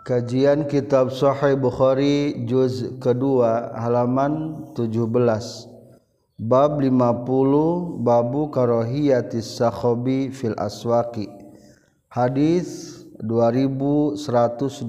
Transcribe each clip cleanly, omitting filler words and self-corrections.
Kajian Kitab Sahih Bukhari juz kedua halaman 17. Bab 50 Babu karahiyatis sakhabi fil aswaqi. Hadis 2125.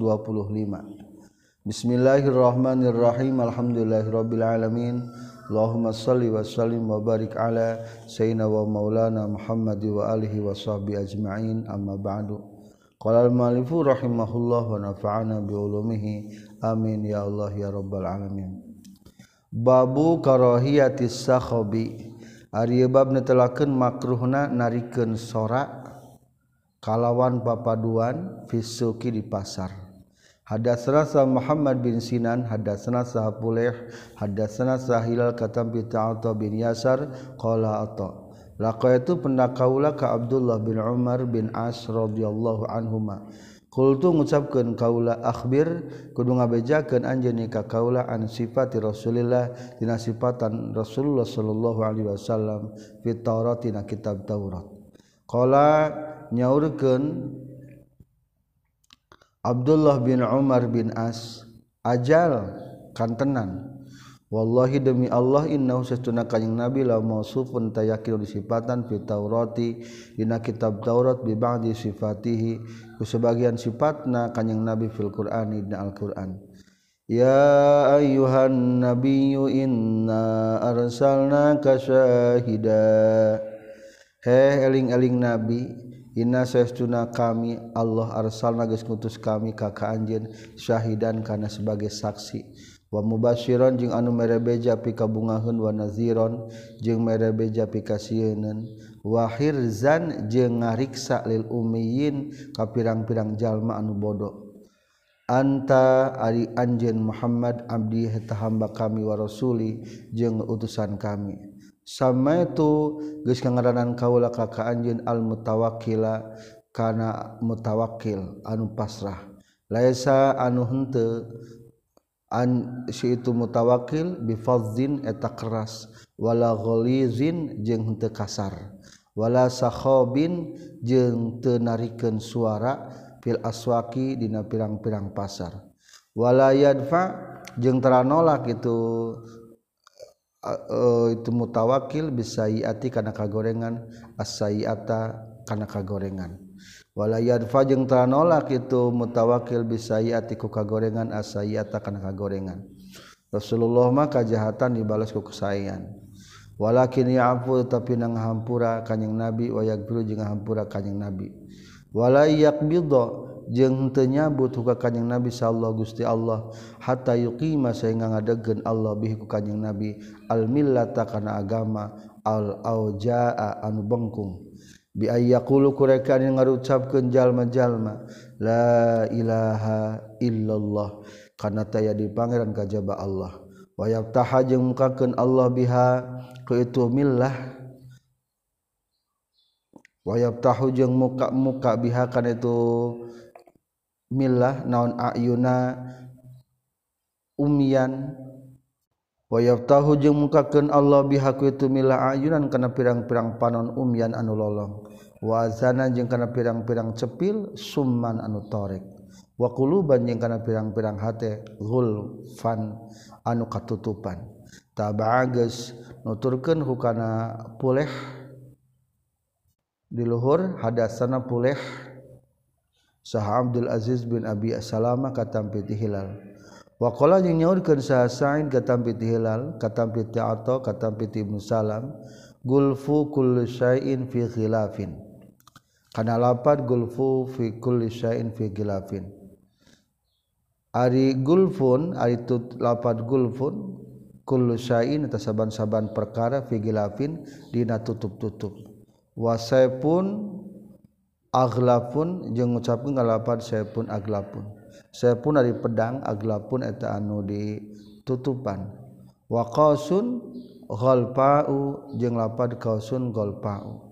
Bismillahirrahmanirrahim. Alhamdulillahirabbil alamin. Allahumma shalli wa sallim wa barik ala sayyidina wa maulana Muhammad wa alihi wa sahbihi ajma'in. Amma ba'du. Qala al-mu'allifu rahimahullah wa nafa'ana bi ulumihi amin ya Allah ya rabbal alamin. Babu karahiyatis sakhabi. Ari bab netelakeun makruhna narikeun sorak kalawan papaduan fisuki di pasar. Hadatsana Muhammad bin Sinan hadatsana Sahapuleh hadatsana Sahilal katam bi Ta'ata bin Yasar qala ata laqaitu pendakaula ka Abdullah bin Umar bin As radhiyallahu anhuma. Qultu ngucapkeun kaula akhbir kudu ngabejakeun anjeun ka kaula an sifati Rasulillah dina sifatan Rasulullah sallallahu alaihi wasallam fit Taurat dina kitab Taurat. Qala nyaurkeun Abdullah bin Umar bin As ajal kantenan wallahi demi Allah innahu sastuna kanjing Nabi la mausufun tayakin disifatan fi Taurati dina kitab Taurat bi ba'di sifatihi ku sebagian sifatna kanjing Nabi fil Qur'ani dina Al-Qur'an. Ya ayyuhan nabiyyu inna arsalnaka syahida. He eling-eling Nabi inna sastuna kami Allah arsalna geus ngutus kami ka anjeun syahidan kana sebagai saksi wa mubasyiran jeung anu mere beja pikabungaheun wa naziron jeung mere beja pikasieun wa hirzan jeung ngariksa lil ummiyin ka pirang-pirang jalma anu bodoh. Anta ari anjeun Muhammad abdi eta hamba kami wa rasuli jeung utusan kami. Sama itu geus ngaranan kaula ka anjeun al mutawakkila kana mutawakkil anu pasrah. Laisa anu henteu an si itu mutawakkil bi fadzin eta keras wala ghalizin jeung henteu kasar wala sakhabin jeung teu narikeun suara fil aswaqi dina pirang-pirang pasar wala yadfa jeung tara nolak itu mutawakkil bisayiati kana kagorengan as-sayiata kana kagorengan wala yadfa jeung tara nolak itu mutawakkil bisayiati ku kagorengan as-sayiata kana kagorengan. Rasulullah mah kajahatan dibalas ku kesaean. Walakin ya'fu tapi nang hampura kanjing Nabi wa yaghfiru jeung hampura kanjing Nabi. Wala yaqbidha jeung teu nyabut ku kanjing Nabi sallallahu Gusti Allah hatta yuqima saengga ngadegkeun Allah bihi ku kanjing Nabi al millata kana agama al aujaa anu bengkung. Bi ayyaqulu kureka anu ngarucapkeun jalma-jalma la ilaha illallah kana taya di pangeran kajaba Allah wa yaftaha jeung mukakeun Allah biha ku itu millah wa yaftahu jeung muka biha kana itu millah naon ayuna umyan wa yaftahu jeung mukakeun Allah biha ku itu millah ayunan kana pirang-pirang panon umyan anu lolong wa azana jeung kana pirang-pirang cepil summan anu torek wa quluban jeung kana pirang-pirang hate ghulfan anu katutupan tabageus nuturkeun hukana puleh di luhur hadatsana puleh sah Abdul Aziz bin Abi Salamah katampi Hilal wa qala jeung nyaurkeun sah Sa'id katampi Hilal katampi Ta'ata katampi Ibnu Salam gulfu kulli syai'in fi khilafin kana lapad gulfu fi kulli syai'in fi khilafin. Ari gulfun ari tut lapad gulfun kullu syai'in eta saban-saban perkara fi khilafin dina tutup-tutup. Wa saipun aghlafun jeung ngucapkeun lapad saipun aghlafun. Saipun ari pedang aghlafun eta anu ditutupan. Wa qasun ghalpa'u jeung lapad qausun ghalpa'u.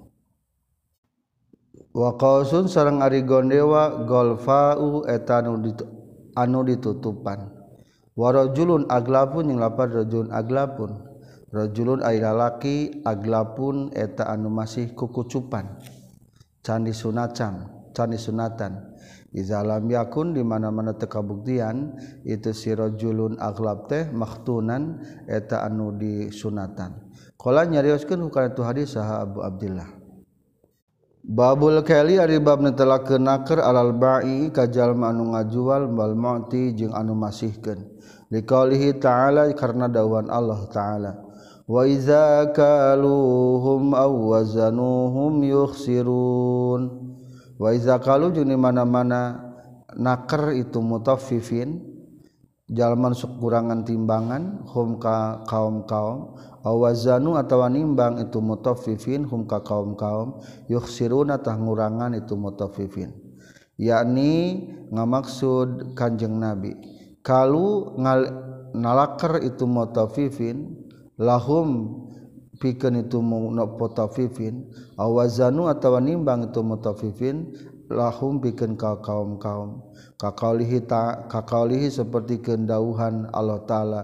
Wa qausun sareng ari gondewa ghalfa'u eta anu ditutupan. Wa rajulun aglapun jeung lapad rajulun aglapun. Rajulun ari lalaki aglapun eta anu masih kukucupan. Can disunacam cani sunatan iza lam yakun di mana-mana teu kabuktian itu si rajulun aghlab teh maktunan eta anu disunatan qala nyarioskeun hukana tu hadis saha Abu Abdillah Babul kali ari bab netelakeun naker alal ba'i ka jalma anu ngajual wal mu'ti jeung anu masihkeun liqaulihi ta'ala karna dawuhan Allah ta'ala wa iza kaluhum aw wazanuhum yukhsirun wa iza kalu jeung di mana-mana naker itu mutaffifin jalma sok kurangan timbangan hum ka kaum-kaum awazanu atawa nimbang itu mutaffifin hum ka kaum-kaum yukhsiruna tah ngurangan itu mutaffifin yakni ngamaksud Kanjeng Nabi kalu nalaker itu mutaffifin lahum pikeun itu mutaffifin awazanu atawa nimbang itu mutaffifin lahum pikeun ka kaum-kaum kakaulihi seperti kendauhan Allah taala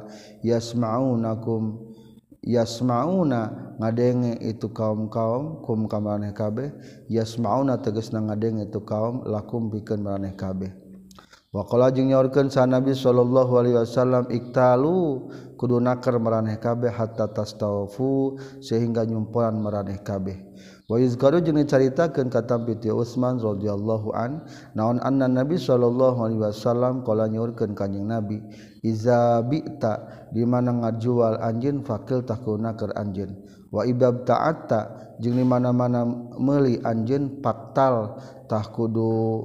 yasmauna ngadenge itu kaum-kaum kum ka maraneh kabeh yasmauna tegasna ngadenge itu kaum lakum pikeun maraneh kabeh wa qala jeung nyaurkeun sa Nabi sallallahu alaihi wasallam iktalu kudu naker maraneh kabeh hatta tastawfu sehingga nyumpuran maraneh kabeh wa yuzkaru jeung dicaritakeun ka tampiti Utsman radhiyallahu an naon anna Nabi sallallahu alaihi wasallam qala nyaurkeun kanjing Nabi iza bi'ta di mana ngajual anjeun fakil tah kunaker anjeun wa ibab ta'atta jeung di mana-mana meuli anjeun paktal tah kudu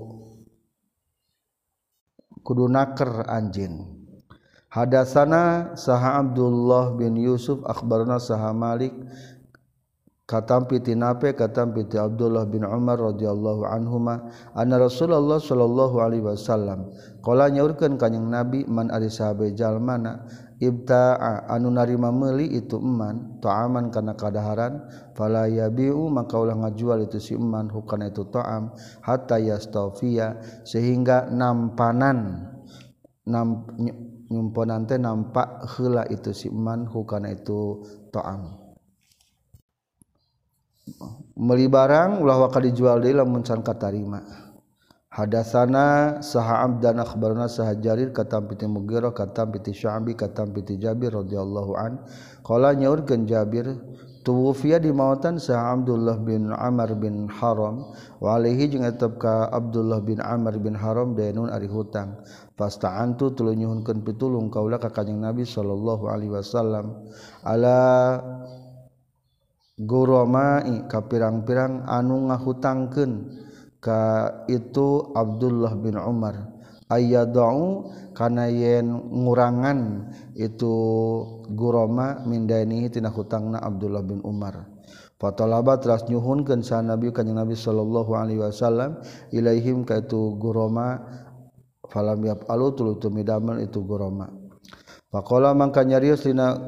naker anjeun hadasana saha Abdullah bin Yusuf akhbarana saha Malik katampi tinape katampi ti Abdullah bin Umar radhiyallahu anhuma anna Rasulullah sallallahu alaihi wasallam qala nyaurkeun kanjing Nabi man ari sahabe jalmana ibta'a anu narima meuli itu eman ta'aman kana kadaharan fala yabi'u maka ulah ngajual itu si eman hukana itu ta'am hatta yastawfiya sehingga nampanan nyumponan teh nampak heula itu si eman hukana itu ta'am meuli barang ulah waka dijual deui lamun can katarima hadasana saha abdan akhbarana saha Jarir katam piti Mughirah katam piti Sya'bi katam piti Jabir radhiyallahu an qala nyaurkeun Jabir tuwfiya di mautan saha Abdullah bin Amr bin Haram wa alaihi jeung etep ka Abdullah bin Amr bin Haram dainun ari hutang fasta'antu tuluy nyuhunkeun pitulung kaula ka kanjing Nabi sallallahu alaihi wasallam ala guromai ka pirang-pirang anu ngahutangkeun ka itu Abdullah bin Umar ayyadau kana yen ngurangan itu guroma min dainihi tina hutangna Abdullah bin Umar fatalaba teras nyuhunkeun sa Nabi kanjing Nabi sallallahu alaihi wasallam ilaihim ka itu guroma falam yafalu tuluy tumidamel itu guroma faqala mangka nyarios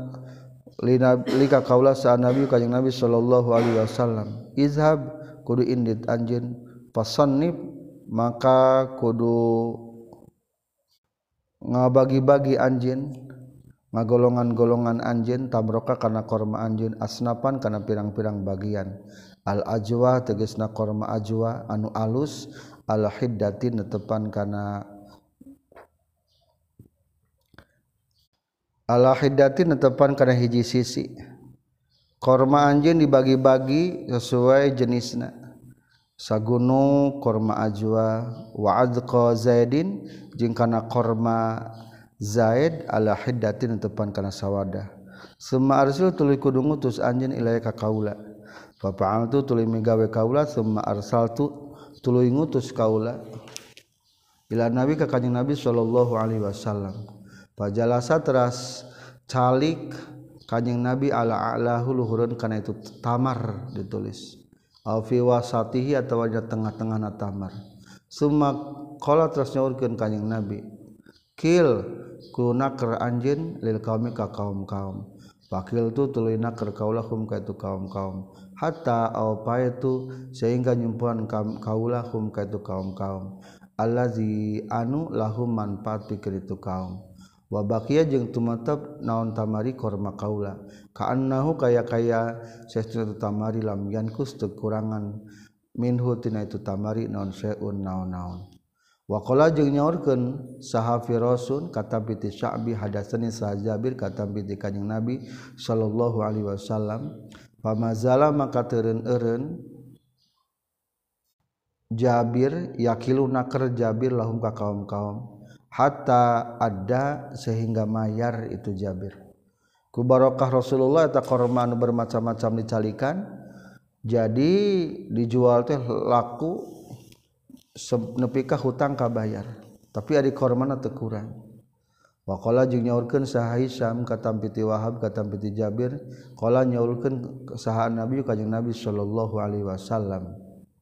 lika kaula sa Nabi kanjing Nabi sallallahu alaihi wasallam izhab kudu indit anjeun fasannib maka kudu ngabagi-bagi anjeun ngagolongan-golongan anjeun tamroka kana korma anjeun asnapan kana pirang-pirang bagian al ajwa tegasna korma ajwa anu alus al hiddatin netepan kana ala hiddatin netepan kana hiji sisi korma anjeun dibagi-bagi sesuai jenisna sagunu korma ajwa wa adqa zaidin jeung kana korma zaid ala hiddatin netepan kana sawadah summa arsil tuluy kudu ngutus anjeun ilaya ka kaula fa fa'altu tuluy migawe kaula summa arsaltu tuluy ngutus kaula ila nabi ka kanjing Nabi sallallahu alaihi wasallam pajalasa teras calik kanjing Nabi ala a'lahu luhurun kana itu tamar ditulis au fi wasatihi atawa di tengah-tengahna tamar summa qala teras nyaurkeun kanjing Nabi kil kunaker anjeun lil qaumi ka kaum-kaum fakil tu tuluy naker kaulahum ka itu kaum-kaum hatta au paetu sehingga nyumpuan kaulahum ka itu kaum-kaum allazi anu lahum manfaat pikeun itu kaum wa baqiya jeung tumatep naon tamari korma kaula ka annahu kaya saestuna tamari lam yankus teu kurangan minhu tina itu tamari naon syai'un naon-naon. Wa qala jeung nyaurkeun saha Firasun katampi ti Sya'bi hadatsani saha Jabir katampi ti Kanjeng Nabi sallallahu alaihi wasallam pamazala maka teureun-eureun Jabir yakiluna keur Jabir lahum ka kaum-kaum hatta ada sehingga mayar itu Jabir ku barokah Rasulullah eta korma anu bermacam-macam dicalikan jadi dijual teh laku nepi ka hutang kabayar tapi ari kormana teu kurang wa qala jeung nyaurkeun saha Hisam katampi ti Wahab katampi ti Jabir qala nyaurkeun saha Nabi Kanjeng Nabi sallallahu alaihi wasallam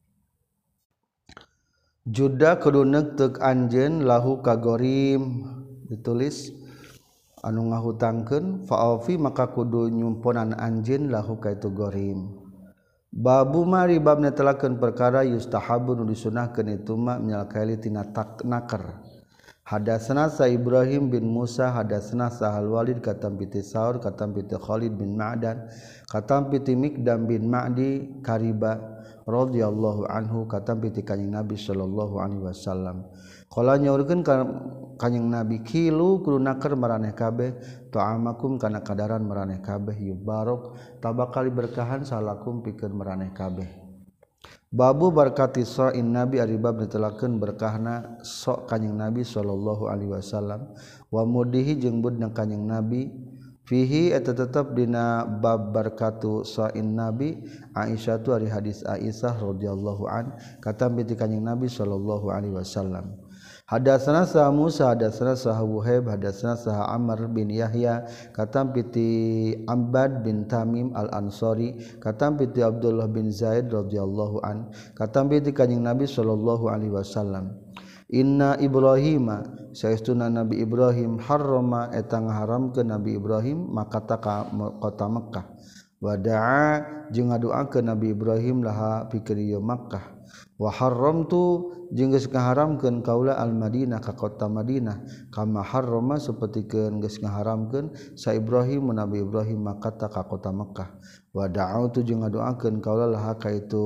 juda kudu neuteuk anjeun lahu ka gorim ditulis anu ngahutangkeun fa'afi maka kudu nyumponan anjeun lahu ka itu gorim babu mari bab netelakeun perkara yustahabu nu disunahkeun itu ma minal kaili tina nakar hadatsana sa Ibrahim bin Musa hadatsana Sahal Walid katampi ti Saur katampi ti Khalid bin Ma'dan katampi ti Mikdam bin Ma'di Kariba radhiyallahu anhu katampi ti Kanjeng Nabi sallallahu alaihi wasallam qala nyaurkeun ka Kanjeng Nabi kilu kudu nakar maraneh kabeh ta'amakum kana kadaran maraneh kabeh yubarok tabakali berkahan salakum pikeun maraneh kabeh babu barkati sa'in Nabi ari bab netelakeun berkahna sok Kanjeng Nabi sallallahu alaihi wasallam wa mudihi jeung budna Kanjeng Nabi fihi eta tetep dina bab barkatu sa'in Nabi Aisyah tu ari hadis Aisyah radhiyallahu an katampi ti Kanjeng Nabi sallallahu alaihi wasallam hadatsana sa Musa hadatsana sa Wuhaib hadatsana sa Amr bin Yahya katampi ti Abbad bin Tamim al-Ansari katampi ti Abdullah bin Zaid radhiyallahu an katampi ti Kanjeng Nabi sallallahu alaihi wasallam inna Ibrahima saestuna Nabi Ibrahim harrama eta ngaharamkeun Nabi Ibrahim makata ka kota Mekkah wada'a jeung ngadoakeun Nabi Ibrahim laha pikeun Makkah wa haramtu jeung geus ngaharamkeun kaula al-Madinah ka kota Madinah kama harrama sapertikeun geus ngaharamkeun sa Ibrahim Nabi Ibrahim makata ka kota Mekkah wa da'autu jeung ngadoakeun kaula laha ka itu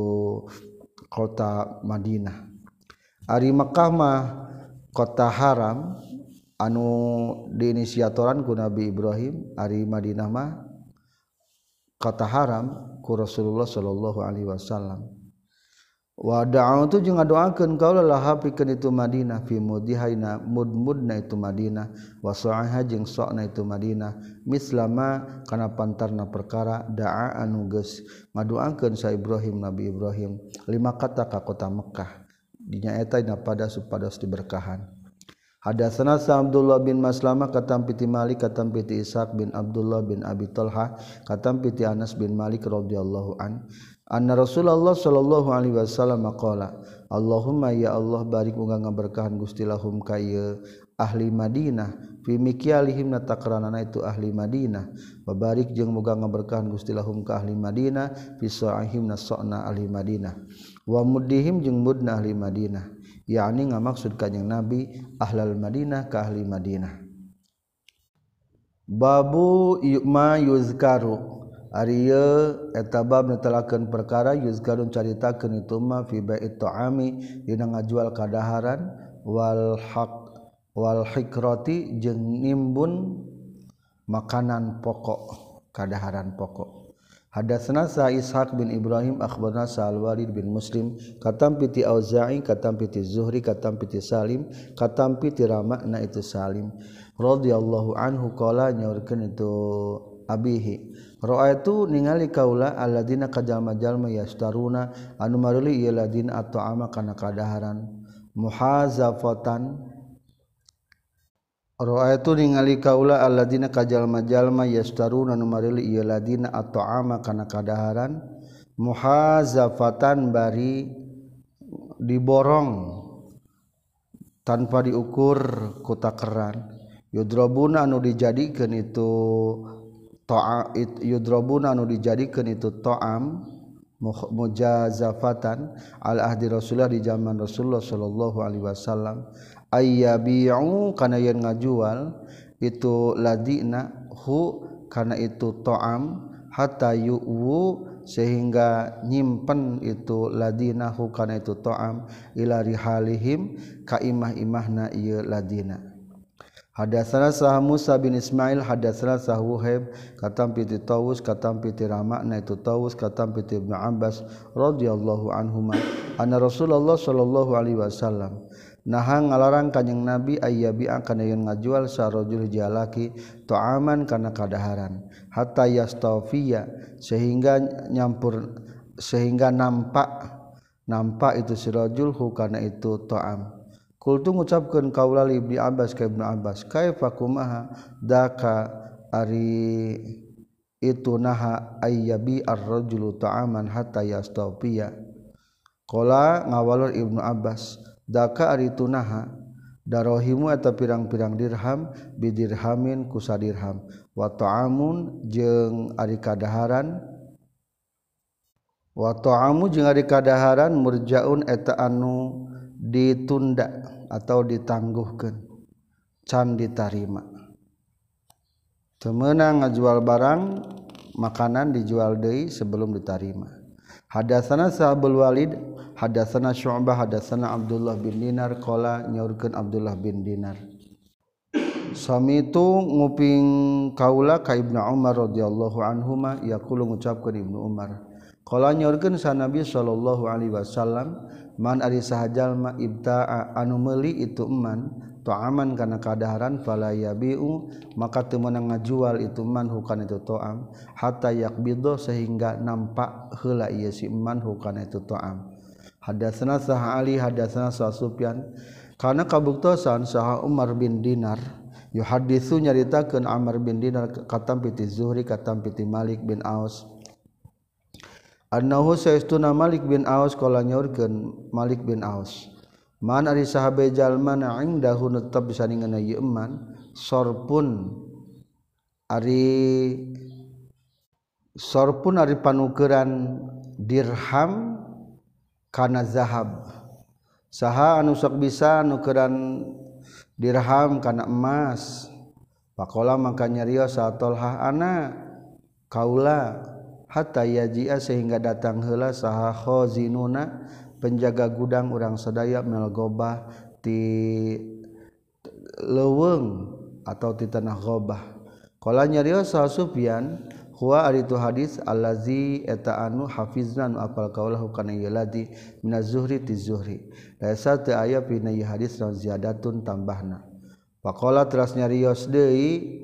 kota Madinah ari Mekkah mah kota haram anu diinisiatoran ku Nabi Ibrahim ari Madinah mah kota haram ku Rasulullah sallallahu alaihi wasallam wa da'autu jeung ngadoakeun kaula laha pikeun itu Madinah fi mudihaina mudmudna itu Madinah wa sa'aha jeung sa'na itu Madinah mislama kana pantarna perkara da'a anu geus ngadoakeun sa Ibrahim Nabi Ibrahim lima kata ka kota Mekkah dinya eta dina pada supados diberkahan hadatsana sa Abdullah bin Maslamah katampi ti Malik katampi ti Ishaq bin Abdullah bin Abi Talha katampi ti Anas bin Malik radhiyallahu an anna Rasulullah sallallahu alaihi wasallam qala Allahumma ya Allah barik muga ngaberkahan Gusti lahum ka ahli Madinah fi mikyalihim nataqranana itu ahli Madinah wa barik jeung muga ngaberkahan Gusti lahum ka ahli Madinah fi sa'ihim nasana ahli Madinah wa muddihim jeung mudna ahli Madinah yakni ngamaksud Kanjeng Nabi ahlal Madinah ka ahli Madinah babu ma yuzkaru ari eta bab netelakeun perkara yuzkarun caritakeun itu ma fi bai't ta'ami dina ngajual kadaharan wal hikrati jeung nimbun makanan pokok kadaharan pokok hadatsana sa Ishaq bin Ibrahim akhbarana sa Al-Walid bin Muslim katampi ti Auza'i katampi ti Zuhri katampi ti Salim katampi ti Rama'na itu Salim radhiyallahu anhu qala nyaurkeun itu abihi ra'aitu ningali kaula alladzina kajalma-jalma yastaruna anu maruli ieu ladina at'ama kana kadaharan muhazafatan ra'aitu ningali kaula alladzina kajalma-jalma yastaruna anu maruli ieu ladina at'ama kana kadaharan muhazafatan bari diborong tanpa diukur ku takeran yudrabuna anu dijadikeun itu yudrabuna anu dijadikeun itu ta'am mujazafatan al ahdi Rasulullah di zaman Rasulullah sallallahu alaihi wasallam ayyabi'u kana yen ngajual itu ladina hu kana itu ta'am hatta yu'wu sehingga nyimpen itu ladinahu kana itu ta'am ila rihalihim ka imah-imahna ieu ladina. Hadatsana sah Musa bin Ismail hadatsana sah Wuhaib katam piti Tawus katam piti Ramakna itu Tawus katam piti Ibnu Abbas radhiyallahu anhuma anna Rasulullah sallallahu alaihi wasallam naha ngalarang kanjing Nabi ayyabi'a kana yen ngajual sarojul jalaki ta'aman kana kadaharan hatta yastafiya sehingga nyampur sehingga nampak itu si rajul hu kana itu ta'am. Kultu ngucapkeun kaula li Ibnu Abbas ka Ibnu Abbas kaifa kumaha daka ari itu naha ayyabi ar-rajulu ta'aman hatta yastafiya. Qala ngawalur Ibnu Abbas daka ari itu naha darohimu eta pirang-pirang dirham bidirhamin ku sadirham wa ta'amun jeung ari kadaharan wa ta'amu jeung ari kadaharan murjaun eta anu ditunda atau ditangguhkeun can ditarima teu meunang ngajual barang makanan dijual deui sebelum ditarima. Hadatsana Sa'bul Walid hadatsana Syu'bah hadatsana Abdullah bin Dinar qala nyaurkeun Abdullah bin Dinar samitu nguping kaula ka Ibnu Umar radhiyallahu anhuma yaqulu ngucapkeun Ibnu Umar qala nyaurkeun sa Nabi sallallahu alaihi wasallam man ari saha jalma ibta'a anu meuli itu eman ta'aman kana kadaharan fala yabi'u maka teu meunang ngajual itu man hukana itu ta'am hatta yaqbidho sehingga nampak heula ieu si eman hukana itu ta'am. Hadatsana sah Ali hadatsana sah Sufyan kana kabuktosan saha Umar bin Dinar yuhaditsu nyaritakeun Amr bin Dinar katam piti Zuhri katam piti Malik bin Aus annahu saestuna Malik bin Aus qala nyaurkeun Malik bin Aus man ari sahabe jalma na indahu netep bisa ningeuna ieu eman sorpun ari panukeuran dirham kana zahab saha anu sok bisa nukeran dirham kana emas faqala maka nyarios satolha ana kaula hatta yaji'a sehingga datang heula saha khazinuna penjaga gudang urang sadaya mel gobah ti leuweung atau ti tanah gobah. Qala nyarios saha Sufyan huwa ari tu hadis allazi eta anu hafizna anu apal kaulahu kana ieu ladi minaz Zuhri ti Zuhri laisa teu aya pina ieu hadis naon ziyadatun tambahna. Faqala teras nyarios deui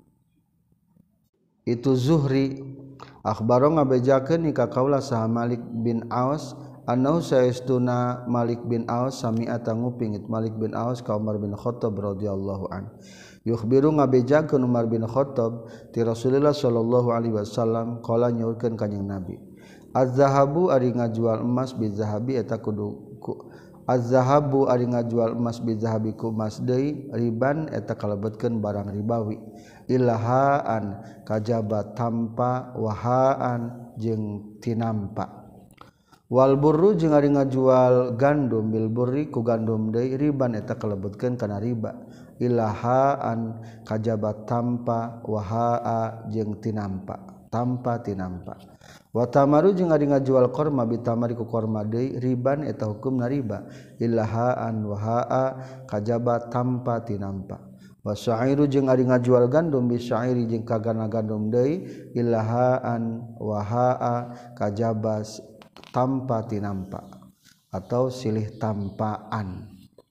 itu Zuhri akhbaro ngabejakeun ka kaula saha Malik bin Aus annahu saestuna Malik bin Aus sami'a tanguping Malik bin Aus ka Umar bin Khattab radhiyallahu an yukhbiru ngabejakeun Umar bin Khattab ti Rasulullah sallallahu alaihi wasallam qala nyaurkeun kanjing Nabi az-zahabu ari ngajual emas bizahabi eta kudu az-zahabu ari ngajual emas bizahabi ku emas deui riban eta kalebetkeun barang ribawi ilahaan kajaba tampa wahaan jeung tinampa wal burru jeung ari ngajual gandum bil burri ku gandum deui riban eta kalebetkeun kana riba ilahaan kajaba tampa wahaa jeung tinampa tampa tinampa wa tamaru jeung ari ngajual korma bitamari ku korma deui riban eta hukumna riba ilahaan wahaa kajaba tampa tinampa wa syairu jeung ari ngajual gandum bi syairi jeung kagana gandum deui ilahaan wahaa kajabas tampa tinampa atau silih tampaan.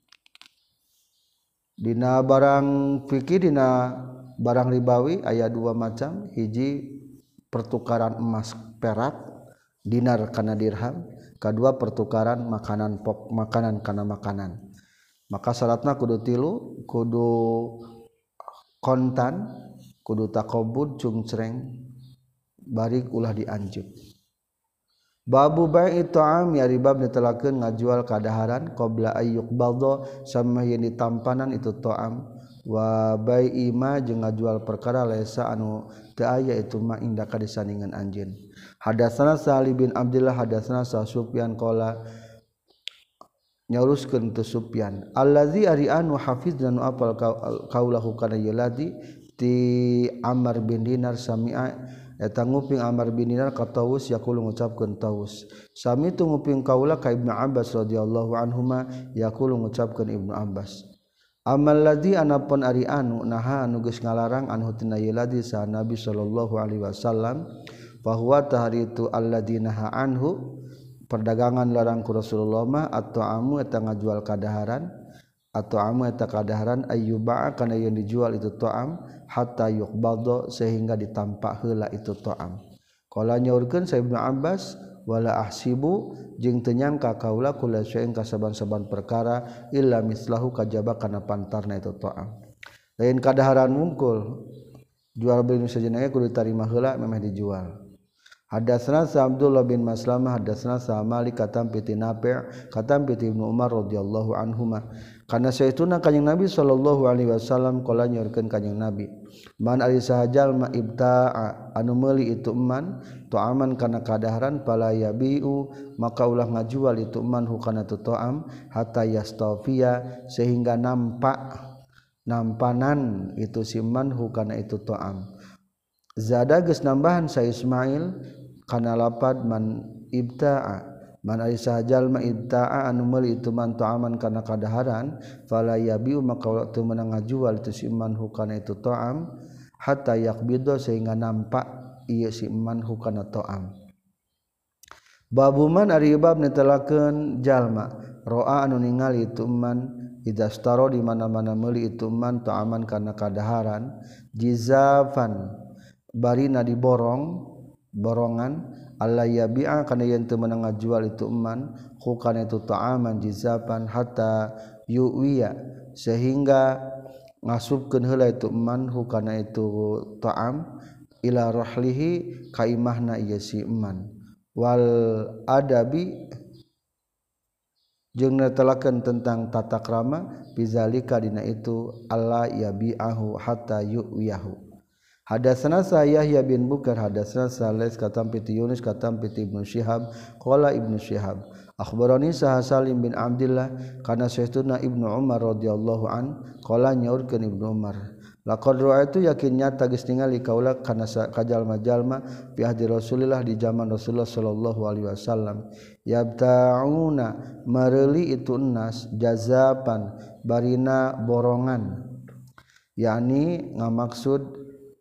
Dina barang fikih dina barang ribawi aya dua macam hiji pertukaran emas perak dinar kana dirham kadua pertukaran makanan makanan kana makanan. Maka syaratna kudu tilu kudu kontan kudu takobud cungcreng bari ulah dianjuk. Babu bai'i ta'am ya ribab ditelakeun ngajual kadaharan qabla ayyuk baldo sama yang ditampanan itu ta'am wa bai'i ma jeung ngajual perkara laisa anu teu aya itu ma indaka disandingan anjeun. Hadatsana Salih bin Abdullah hadatsana Sufyan qala nyauruskeun tu Sufyan allazi ari anu hafiz dan apal kaulahu kana yaladi ti Ammar bin Dinar sami'a eta nguping Amr bin Dinar ka Tawus yaqulu ngucapkeun Tawus sami tu nguping kaula ka Ibnu Abbas radhiyallahu anhuma yaqulu ngucapkeun Ibnu Abbas amal ladzi anapun ari anu naha anu geus ngalarang anhu tina ieu ladzi sa Nabi sallallahu alaihi wasallam bahwa tahari itu alladzina anhu perdagangan larang ku Rasulullah mah atau amu eta ngajual kadaharan atau amu eta kadaharan ayyuba kana yang dijual itu to'am hatta yuqbadha sehingga ditampak heula itu to'am qala nyaurkeun sa Ibnu Abbas wala ahsibu jeung teu nyangka kaula kula syai'in kasaban-saban perkara illa mislahu kajaba kana pantarna itu to'am lain kadaharan mungkul jual beli nu sajeuna kudu ditarima heula memeh dijual. Hadatsana Abdullah bin Maslamah hadatsana Malik katam piti Nafi' katam piti Ibnu Umar radhiyallahu anhuma kana sayyiduna kanjing Nabi sallallahu alaihi wasallam qala nyorkeun kanjing Nabi man ari sahajal ma ibta'a anu meuli itu eman to'aman kana kadaharan fala yabiu maka ulah ngajual itu eman hukana tu to'am hatta yastafiya sehingga nampanan itu siman hukana itu to'am zada geus nambahan sa Ismail kana lapad man ibta'a man ari sahajal ma ibta'a anu meuli itu man ta'aman kana kadaharan fala yabiu maka teu meunang ngajual itu si man hukana itu ta'am hatta yaqbidha sehingga nampak ieu si man hukana ta'am babu man ari bab netelakeun jalma ro'a anu ningali itu man idastaro di mana-mana meuli itu man ta'aman kana kadaharan jizafan barina diborong borongan alla yabi'a kana yen teu meunang ngajual itu eman hukana itu ta'aman jizapan hatta yuwiya sehingga ngasupkeun heula itu eman hukana itu ta'am ila rahlihi ka imahna ieu si eman wal adabi jeung netelakeun tentang tata krama bizalika dina itu alla yabi'ahu hatta yuwiyahu. Hadatsana Yahya bin Bukar hadatsana Salih katam piti Yunus katam piti Ibnu Syihab qala Ibnu Syihab akhbarani Salim bin Abdullah kana sayyiduna Ibnu Umar radhiyallahu an qala nyaurkeun Ibnu Umar laqad ra'aitu yakin nyata geus ningali kaula kana kajalma-jalma fi ahdi Rasulillah di zaman Rasulullah sallallahu alaihi wasallam yabta'una mareuli itu nas jazapan barina borongan yakni ngamaksud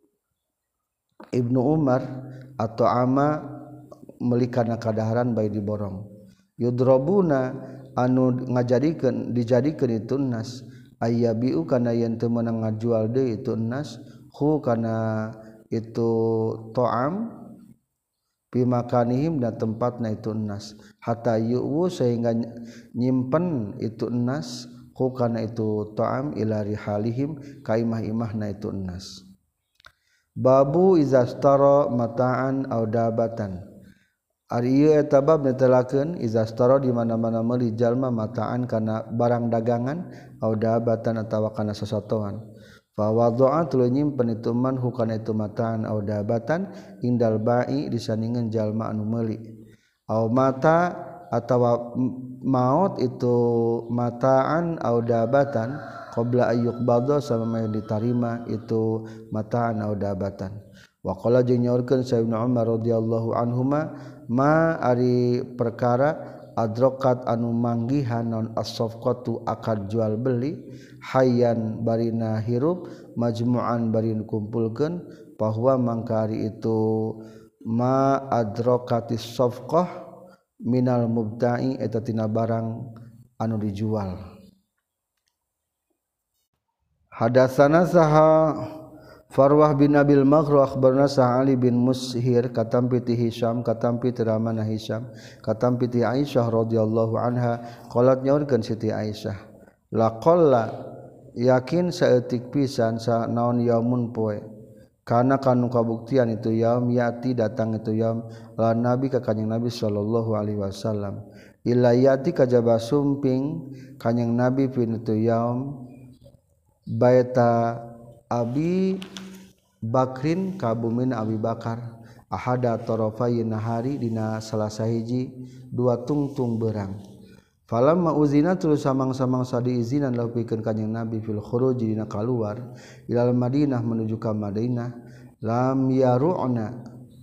Ibnu Umar atau ama melikana kadaharan bae diborong yudrobuna anu ngajadikeun dijadikeun itu nas ayyabiu kana yen teu meunang ngajual deui itu nas hu kana itu to'am fi makanihim dan tempatna itu nas hatta yu'u sehingga nyimpen itu nas hu kana itu to'am ila rihalihim ka imah-imahna itu nas. Babu izastara mata'an aw dabatan ari ieu eta bab netelakeun izastara di mana-mana meuli jalma mata'an kana barang dagangan aw dabatan atawa kana sasatoan fa wadha'a tuluy nyimpen itu man hukana itu mata'an aw dabatan indal ba'i disandingan jalma anu meuli aw mata atawa maut itu mata'an aw dabatan qabla ayyuk badha sama yang ditarima itu mataan au dabatan wa qala jeung nyaurkeun sa Ibnu Umar radhiyallahu anhuma ma ari perkara adrokat anu manggihan non as-safqatu akad jual beli hayyan barina hirup majmu'an barin kumpulkeun bahwa mangkari itu ma adrokatis safqah minal mubta'i eta tina barang anu dijual. Hadatsana saha Farwah bin Nabil Maghru akhbarna Ali bin Mushir katam piti Hisham katam piti ramana Hisham katam piti Aisyah radhiyallahu anha qalat nyaurkeun Siti Aisyah laqalla yakin saeutik pisan sa naon yaumun poe kana kanu kabuktian itu yaum yati datang itu yaum la nabi ka kanjing Nabi sallallahu alaihi wasallam illa yati kajaba sumping kanjing Nabi pin itu yaum baita Abi Bakrin kabumin Abi Bakar ahada tarafai nahari dina salasa hiji dua tungtung berang falamma uzina terus samang-samang sadi izinan lahu pikeun kanjing Nabi fil khuruj dina kaluar ilal Madinah menuju ka Madinah lam yaru'na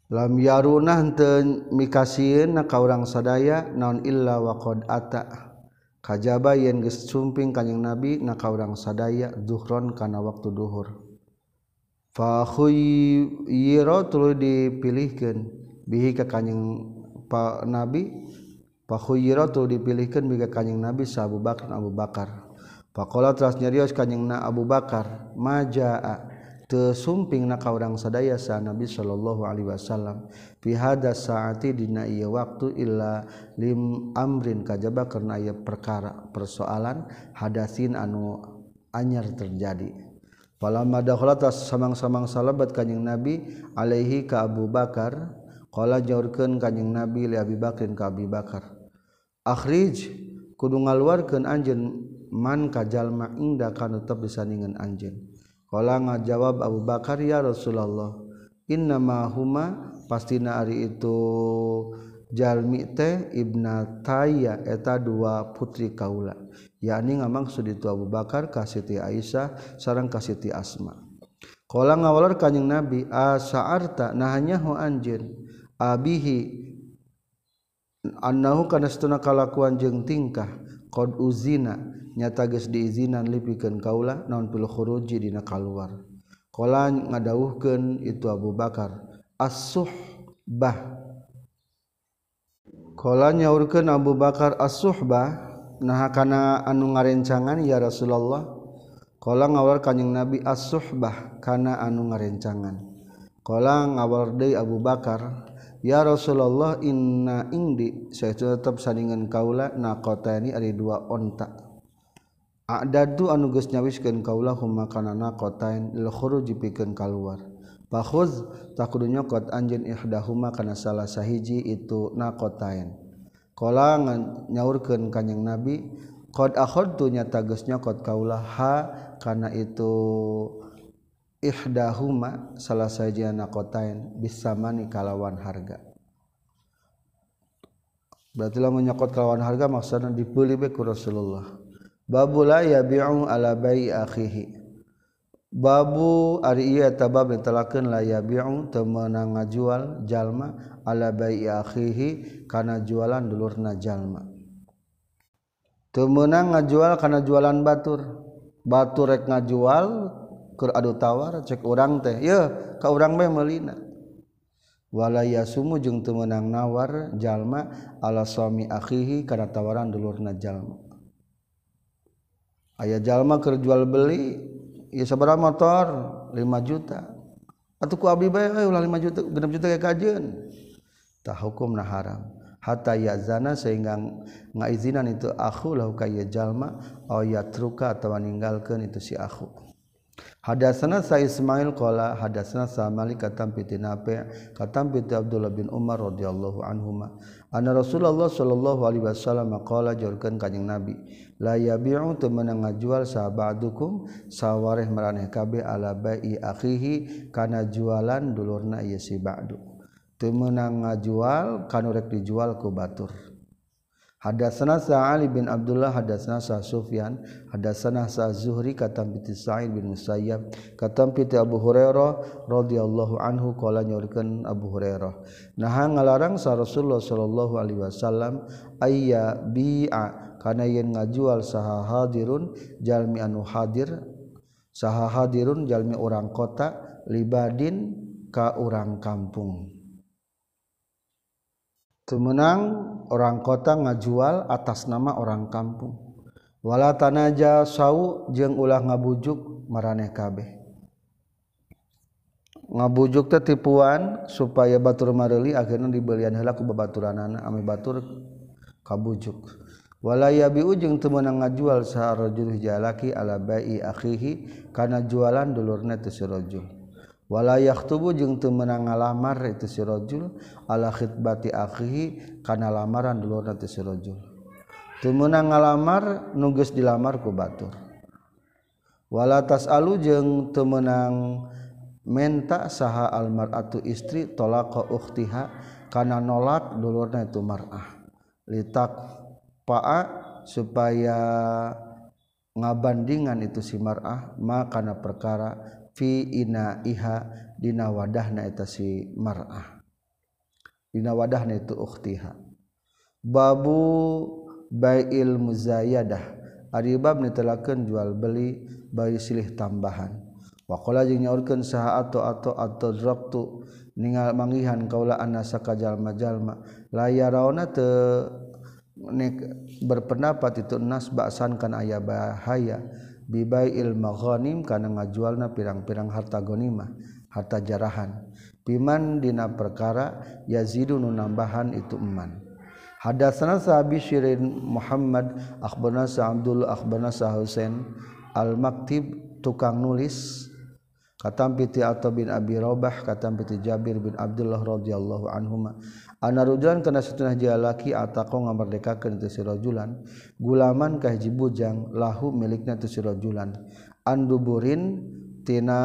lam yarunah henteu mikasieun ka urang sadaya naon illa wa qad ata kajaba yen geus sumping kanjing Nabi na ka urang sadaya zuhron kana waktu duhur fa khuyyira tuluy dipilihkeun bihi ka kanjing Nabi fa khuyyira tuluy dipilihkeun bihi ka kanjing Nabi sa Abu Bakar faqala teras nyarios kanjingna Abu Bakar majaa teu sumping na ka urang sadaya sa Nabi sallallahu alaihi wasallam fi hada saati dina ieu waktu illa lim amrin kajaba karna aya perkara persoalan hadasin anu anyar terjadi falamma dakhala tas samang-samang salabat kanjing Nabi alaihi ka Abu Bakar qala nyaurkeun kanjing Nabi li Abi Bakrin ka Abi Bakar akhrij kudu ngaluarkeun anjeun man ka jalma ingda kana tetep disandingan anjeun qala ngajawab Abu Bakar ya Rasulullah innama huma pastina ari itu jalmi teh ibnataya eta dua putri kaula yakni ngamaksud itu Abu Bakar ka Siti Aisyah sareng ka Siti Asma qala ngawalor kanjing Nabi asa'arta nahanya hu anjeun abihi annahu kana satuna kalakuan jeung tingkah qad uzina nyata geus diizinan lipikeun kaula naon pil khuruji dina kaluar qala ngadawuhkeun itu Abu Bakar as-suhbah qala nyaurkeun Abu Bakar as-suhbah nah kana anu ngarencangan ya Rasulullah qala ngawal kanjing Nabi as-suhbah kana anu ngarencangan qala ngawal deui Abu Bakar ya Rasulullah inna indi saestu tetep sandingan kaula naqotani ari dua onta a'dadu anu geus nyawiskeun kaula huma kana naqotain lil khuruj pikeun kaluar fakhuz takudu nyokot anjeun ihdahuma kana salah sahiji itu naqotain qala nyaurkeun kanjing Nabi qad akhadtu nyata geus nyokot kaula ha kana itu ihdahuma salah sahiji naqotain bisamani kalawan harga berarti lamun nyokot kalawan harga maksudna dibeuli bae ku Rasulullah babu la yabi'u ala bai'i akhihi babu ari ieu eta bab netelakeun la yabi'u teu meunang ngajual jalma ala bai'i akhihi kana jualan dulurna jalma teu meunang ngajual kana jualan batur rek ngajual keur adu tawar cek urang teh yeuh ka urang bae meulina wala yasumu jeung teu meunang nawar jalma ala suami akhihi kana tawaran dulurna jalma aya jalma keur jual beli ieu sabaraha motor 5 juta atuh ku abdi bae ulah 5 juta 6 juta ge kajeun tah hukumna haram hatta yazana sehingga ngaizinan itu akhu lahu ka ieu jalma aw yatruka atawa ninggalkeun itu si akhu hadatsana sa Ismail qala hadatsana sa Malik katam piti Nafi' katam piti Abdullah bin Umar radhiyallahu anhuma anna Rasulullah sallallahu alaihi wasallam qala jorkeun kanjing Nabi la yabi'u teu meunang ngajual sahabadukum sawareh maraneh kabeh ala bai'i akhihi kana jualan dulurna ieu si ba'du teu meunang ngajual kanu rek dijual ku batur hadatsana sa Ali bin Abdullah hadatsana sa Sufyan hadatsana sa Zuhri katam piti Sa'id bin Musayyab katam piti Abu Hurairah radhiyallahu anhu qala nyorkeun Abu Hurairah nah ngalarang sa Rasulullah sallallahu alaihi wasallam ayya bi'a kana yen ngajual saha hadirun jalmi anu hadir saha hadirun jalmi urang kota libadin ka urang kampung teu meunang orang kota ngajual atas nama orang kampung wala tanaja sau jeung ulah ngabujuk maraneh kabeh ngabujuk teh tipuan supaya batur mareuli akhirna dibelian heula ku babaturanana ame batur kabujuk wala yabi'u jeung teu meunang ngajual saha rajul jalaki ala bai'i akhihi kana jualan dulurna teh si rajul wala yaktubu jeung teu meunang ngalamar itu si rajul ala khitbati akhihi kana lamaran dulurna teh si rajul teu meunang ngalamar nu geus dilamar ku batur wala tasalu jeung teu meunang menta saha almar'atu istri talaqa ukhtiha kana nolak dulurna itu mar'ah litak pa'a supaya ngabandingan itu si mar'ah ma kana perkara fi inaiha dina wadahna eta si mar'ah dina wadahna itu ukhtiha. Babu bai'il muzayadah ari bab netelakeun jual beli bai silih tambahan. Wa qala jeung nyaurkeun saha atau drabtu ningal manggihan kaula anasa ka jalma-jalma la yarawna teu berpendapat itu nas ba'san kan aya bahaya bibai'il maghanim kana ngajualna pirang-pirang harta ghanimah harta jarahan piman dina perkara yazidu nu nambahan itu eman. Hadatsana sahabi Syirin Muhammad akhbarana Abdullah akhbarana Husain al-Maktib tukang nulis katam piti Atha bin Abi Rabah katam piti Jabir bin Abdullah radhiyallahu anhuma ana rajulan kana satuna jalaki ataqo ngamerdekakeun teu si rajulan gulaman ka hiji bujang lahu milikna teu si rajulan anduburin tina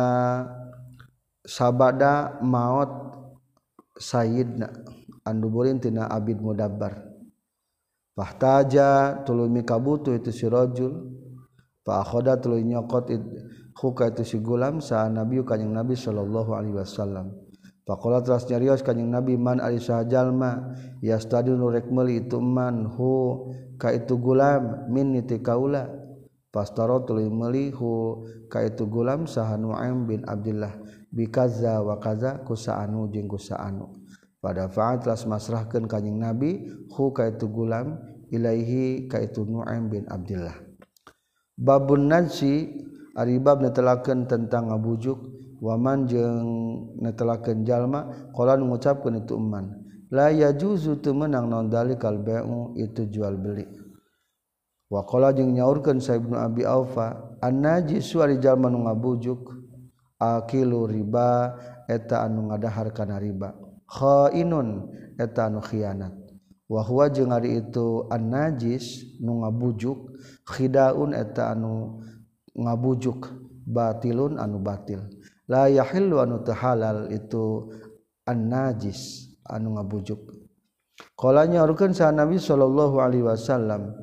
sabada maot sayyidna anduburin tina abid mudabbar fahtaja tulumi kabutuh itu si rajul fa akhada tuluy nyokot huka itu si gulam sa nabi kanjing nabi sallallahu alaihi wasallam faqala teras nyarios kanjing nabi man ari sajalma yastadinu rek meuli itu man hu ka itu gulam min ti kaula pastaro tuluy meuli hu ka itu gulam saha Nu'aim bin Abdullah bikaza wa kaza kusaanu jeung kusaanu pada faat teras masrahkeun kanjing nabi hu ka itu gulam ilaihi ka itu Nu'aim bin Abdullah. Babun najsi ari bab netelakeun tentang ngabujuk waman jeung netelakeun jalma qala ngucapkeun itu eman la yajuzu teu meunang naon dalikal bai'u itu jual beli wa qala jeung nyaurkeun sa Ibnu Abi Aufa an-najisu ari jalma nu ngabujuk akilu riba eta anu ngadahar kana riba khainun eta anu khianat wa huwa jeung ari itu an-najis nu ngabujuk khidaun eta anu ngabujuk batilun anu batil la yahillu anu teu halal itu an-najis anu ngabujuk qala nyaurkeun sa Nabi sallallahu alaihi wasallam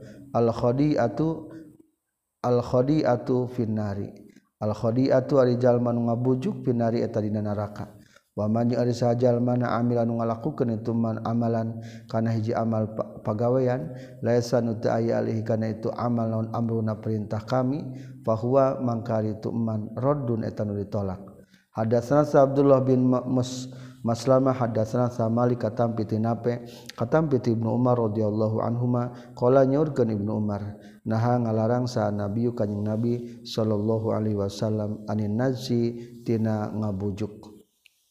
al-khadi'atu finnari al-khadi'atu ari jalma nu ngabujuk finnari eta dina neraka wa man ari sajalma amil anu ngalakukeun itu man amalan kana hiji amal pagawean laisa nu teu aya alih kana itu amal naon amruna perintah kami fahuwa mangkari itu man raddun eta nu ditolak. Hadatsana Abdullah bin Maslamah hadatsana Malik katam piti Nafi katam piti Ibnu Umar radhiyallahu anhuma qala nyaurkeun Ibnu Umar naha ngalarang sa nabi kanjing nabi sallallahu alaihi wasallam anin najsi tina ngabujuk.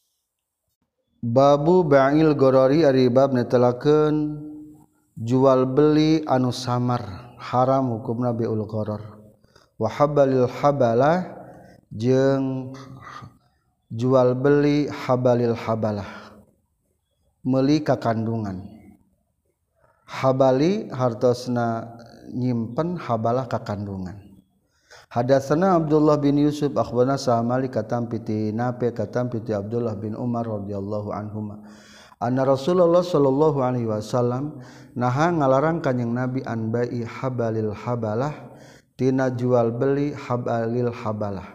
Babu ba'il gorori ari bab netelakeun jual beli anu samar haram hukumna bi'ul gharar wa habalil habalah jeung jual beli habalil habalah meuli kakandungan habali hartosna nyimpen habalah kakandungan. Hadatsana Abdullah bin Yusuf akhbarana Malik katam piti Nafi katam piti Abdullah bin Umar radhiyallahu anhuma anna Rasulullah sallallahu alaihi wasallam naha ngalarang kanjing Nabi an bai'i habalil habalah tina jual beli habalil habalah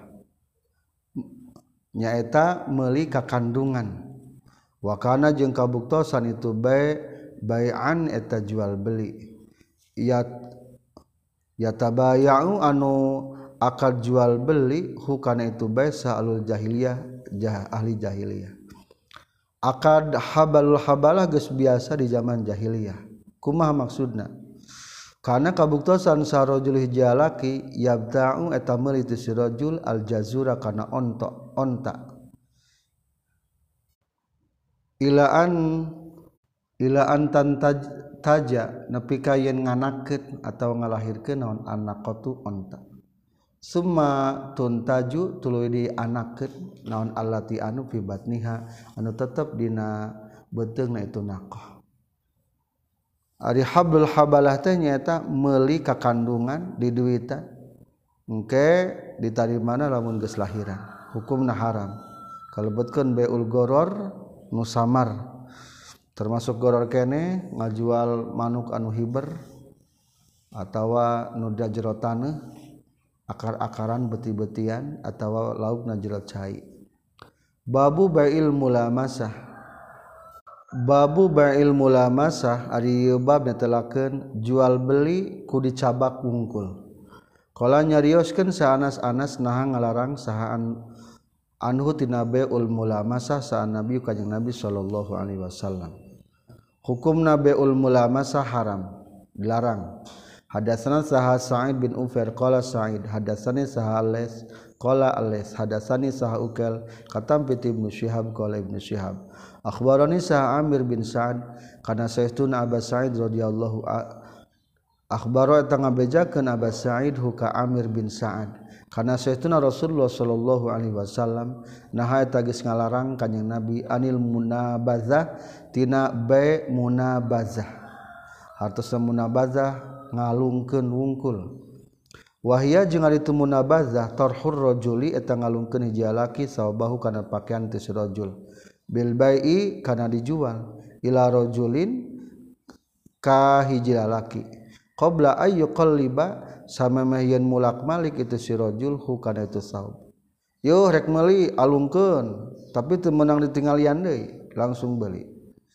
nyaeta meuli kakandungan wa kana jeung kabuktosan itu bai'an eta jual beli yatabaya'u anu akad jual beli hukana itu baisa alul jahiliyah ahli jahiliyah akad habalul habalah geus biasa di zaman jahiliyah kumaha maksudna kana kabuktosan sarojul hijalaki yabta'u eta meuli ti sirajul al jazura kana onta ilaan taja nepi ka yen nganakeun atawa ngalahirkeun naon anaqatu onta summa tuntaju tuluy dianakeun naon allati anu fi batniha anu tetep dina beuteungna itu naqah. Ari hablul habalah teh nyaeta meuli kakandungan di duitan engke ditarimana lamun geus lahiran hukumna haram kalebetkeun bai'ul gharar nu samar termasuk gharar kene ngajual manuk anu hiber atawa nu da jero taneuh akar-akaran beti-betian atawa laukna jero cai. Babu bai'il mulamasah Babu ba'il mulamasah ari bab netelakeun jual beli ku dicabak wungkul. Qala nyarioskeun sa Anas naha ngalarang saha anhu tina bai'ul mulamasah sa Nabi kanjing Nabi sallallahu alaihi wasallam. Hukumna bai'ul mulamasah haram, dilarang. Hadatsana saha Sa'id bin Ufair qala Sa'id hadatsani saha Ales qala Ales hadatsani saha Ukail katam piti Ibnu Syihab qala Ibnu Syihab akhbarani saha Amir bin Sa'ad kana saestuna Aba Sa'id radhiyallahu akhbaro eta ngabejakeun Aba Sa'id huka Amir bin Sa'ad kana saestuna Rasulullah sallallahu alaihi wasallam naha eta geus ngalarang kanjing Nabi anil munabazah tina bai munabazah hartosna munabazah ngalungkeun wungkul wahia jeung ari teu munabazah tarhur rajuli eta ngalungkeun hiji lalaki sawabahu kana pakaian teu si rajul bil bai'i kana dijual ila rajulin ka hiji lalaki qabla ayyu qalliba samemeh yen mulak malik itu si rajul hu kana itu saub yo rek meuli alungkeun tapi teu meunang ditinggalian deui langsung beuli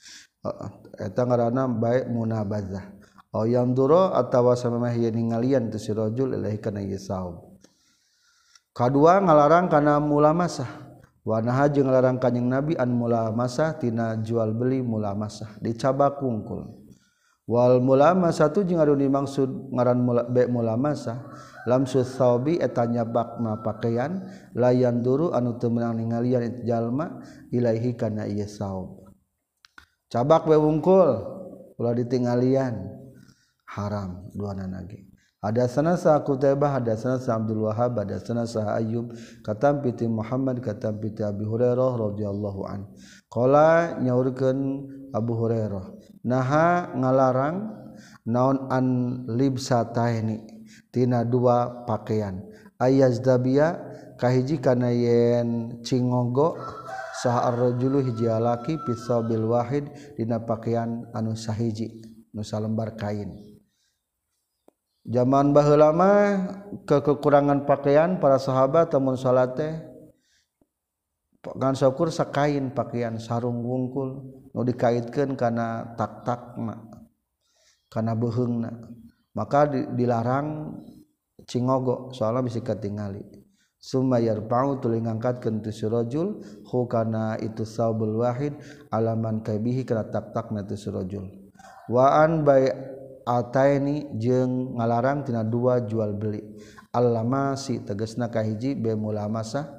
eta ngaranna bai munabazah yang duro atawa samemeh yen ningalian tu si rajul ilahi kana ieu saub. Kadua ngalarang kana mulamasah. Wa naha jeung ngalarang kanjing Nabi an mulamasah tina jual beli mulamasah dicabak wungkul. Wal mulamasah tu jeung anu dimaksud ngaran mulamasah lamsu saubi eta nyabakna pakaian layan duru anu teu meunang ningalian itu jalma ilahi kana ieu saub. Cabak we wungkul ulah ditinggalian haram duana nage. Hadatsana sa Qutaibah hadatsana sa Abdul Wahhab hadatsana sa Ayyub katam piti Muhammad katam piti Abi Hurairah radhiyallahu an. Qala nyaurkeun Abu Hurairah naha ngalarang naon an libsataini tina dua pakaian ayazdabia kahiji kana yen cingogo saha ar-rajulu hiji alaki pisabil wahid dina pakaian anu sahiji nu salembar kain. Zaman baheula mah kekurangan pakaian para sahabat tamun salat teh ngan syukur sakain pakaian sarung wungkul nu dikaitkeun kana tak-takna kana beuheungna maka dilarang cingogo soalna bisi katingali summa yarfa'u tuluy ngangkatkeun tu si rajul hu kana itu saubul wahid alaman kaibihi kana tak-takna tu si rajul wa an bai ataini jeung ngalarang tina dua jual beli allamasi tegasna kahiji be mulamasah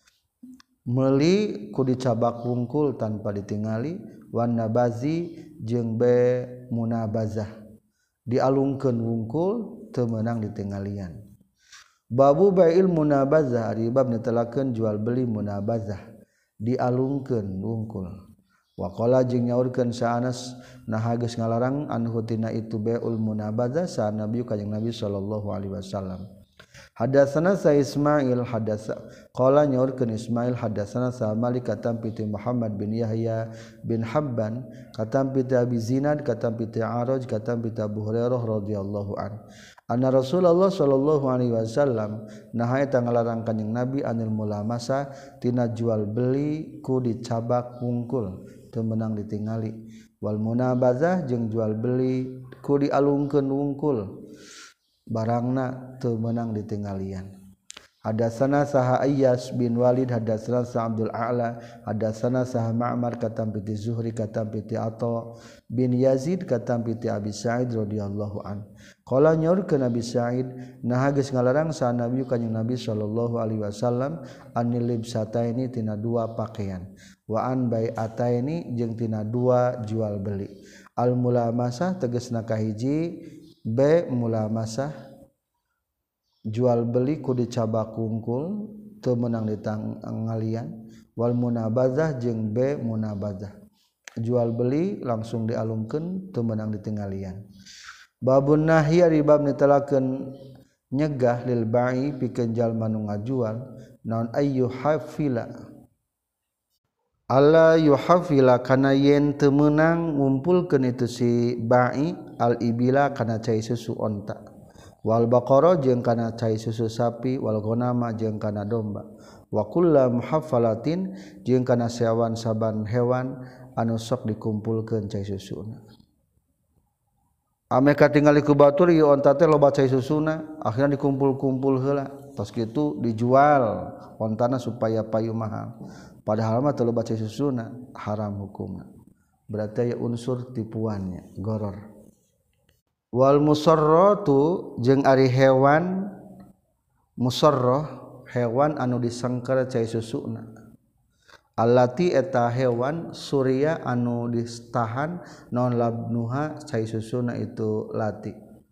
meuli ku dicabak wungkul tanpa ditingali wan nabazi jeung be munabazah dialungkeun wungkul teu meunang ditinggalian. Babu bai'il munabazah ari bab netelakeun jual beli munabazah dialungkeun wungkul. Wa qala jeung nyaurkeun sa Anas naha geus ngalarang anhu tina itu bai'ul munabazah sa Nabi kanjing Nabi sallallahu alaihi wasallam. Hadatsana sa Ismail qala nyaurkeun Ismail hadatsana sa Malik katam piti Muhammad bin Yahya bin Habban katam piti Abi Zinad katam piti Araj katam piti Abu Hurairah radhiyallahu an. Anna Rasulullah sallallahu alaihi wasallam naha eta ngalarang kanjing Nabi anil mulamasa tina jual beli ku dicabak wungkul teu meunang ditingali wal munabazah jeung jual beli ku dialungkeun wungkul barangna teu meunang ditinggalian. Hadatsana saha Ayyas bin Walid hadatsana sa Abdul A'la hadatsana saha Ma'mar katam piti Zuhri katam piti Atha bin Yazid katam piti Abi Sa'id radhiyallahu an. Qala nyaurkeun Abi Sa'id naha geus ngalarang sa Nabi kanjing Nabi sallallahu alaihi wasallam anil libsataini tina dua pakaian wa an bai'ataini jeung tina dua jual beli. Al mulamasah tegasna kahiji be mulamasah jual beli ku dicabak wungkul teu meunang ditinggalian wal munabazah jeung be munabazah jual beli langsung dialungkeun teu meunang ditinggalian. Babun nahyi ari bab netelakeun nyegah lil ba'i pikeun jalma nu ngajual naon ayyu hafila alla yuhafila kana yen teu meunang ngumpulkeun itu si ba'i al ibila kana cai susu onta wal baqara jeung kana cai susu sapi wal ghanama jeung kana domba wa kullu muhaffalatin jeung kana sawan saban hewan anu sok dikumpulkeun cai susuna ame katingali ku batur ieu onta teh loba cai susuna akhirna dikumpul-kumpul heula tos kitu dijual ontana supaya payu mahal padahal mah teu loba cai susuna haram hukumna berarti aya unsur tipuannya goror wal musarratu jeung ari hewan musarrah hewan anu disengker cai susuna allati eta hewan surya anu distahan non labnuha cai susuna itu lati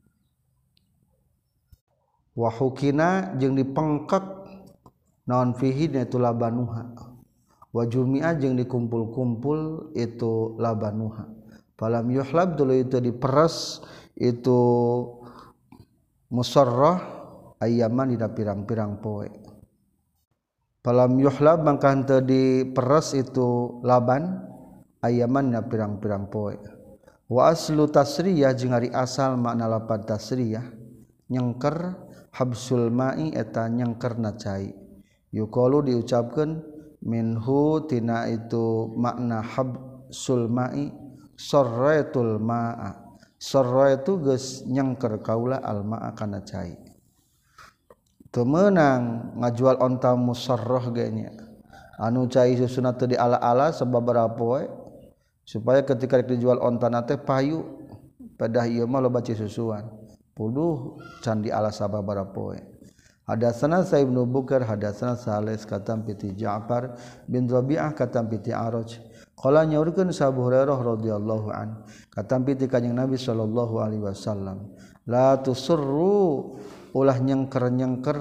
wa hukina jeung dipengkek non fihi itu labanuha wa jumi'a jeung dikumpul-kumpul itu labanuha falam yuhlab dulu itu diperes itu musarrah ayyaman dina pirang-pirang poe falam yuhlab mangka henteu diperes itu laban ayyaman dina pirang-pirang poe wa aslu tasriyah jeung ari asal makna lapad tasriyah nyengker habsul ma'i eta nyengkerna cai yuqalu diucapkeun minhu tina itu makna habsul ma'i sarratul ma'a sarra itu geus nyengker kaula al ma'a kana cai teu meunang ngajual onta musarrah ge nya anu cai susuna teu diala-ala sababaraha poe supaya ketika dijual ontana teh payu padah ieu mah loba cai susuan puluh can diala sababaraha poe hadatsana Sa'ib bin Bukar hadatsana Sales katam piti Ja'far bin Rabi'ah katam piti Araj qala nyaurkeun sa Abu Hurairah radhiyallahu an katam piti kanjing Nabi sallallahu alaihi wasallam la tusurru ulah nyengker-nyengker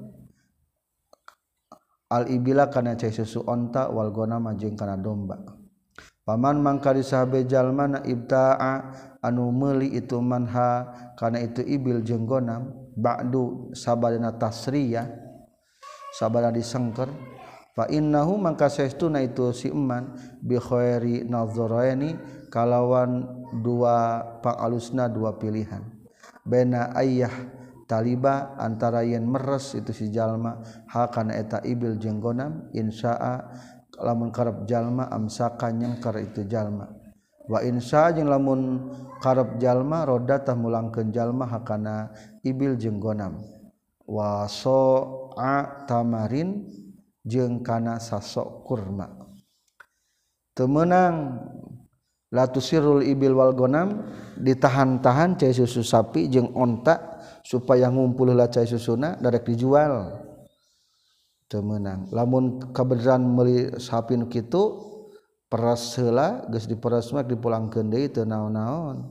al ibila kana cai susu onta wal ghanama jeung kana domba paman mangka disahabe jalmana ibta'a anu meuli itu manha kana itu ibil jeung ghanam ba'du sabadana tasriyah sabada disengker fa innahu mangka saestuna itu si eman bi khairi nazaraini kalawan dua pangalusna dua pilihan baina ayyah taliba antara yen meres itu si jalma hakana eta ibil jeung ghanam insya'a lamun karep jalma amsaka nyengker itu jalma wa insya jeung lamun karep jalma rodatah mulangkeun jalma hakana ibil jeung ghanam wa so'a tamarin jeung kana sasok kurma teu meunang la tusirul ibil wal ghanam ditahan-tahan cai susu sapi jeung onta supaya ngumpul heula cai susuna darek dijual teu meunang lamun kabeneran meuli sapi nu kitu peras heula geus diperes mah dipulangkeun deui teu naon-naon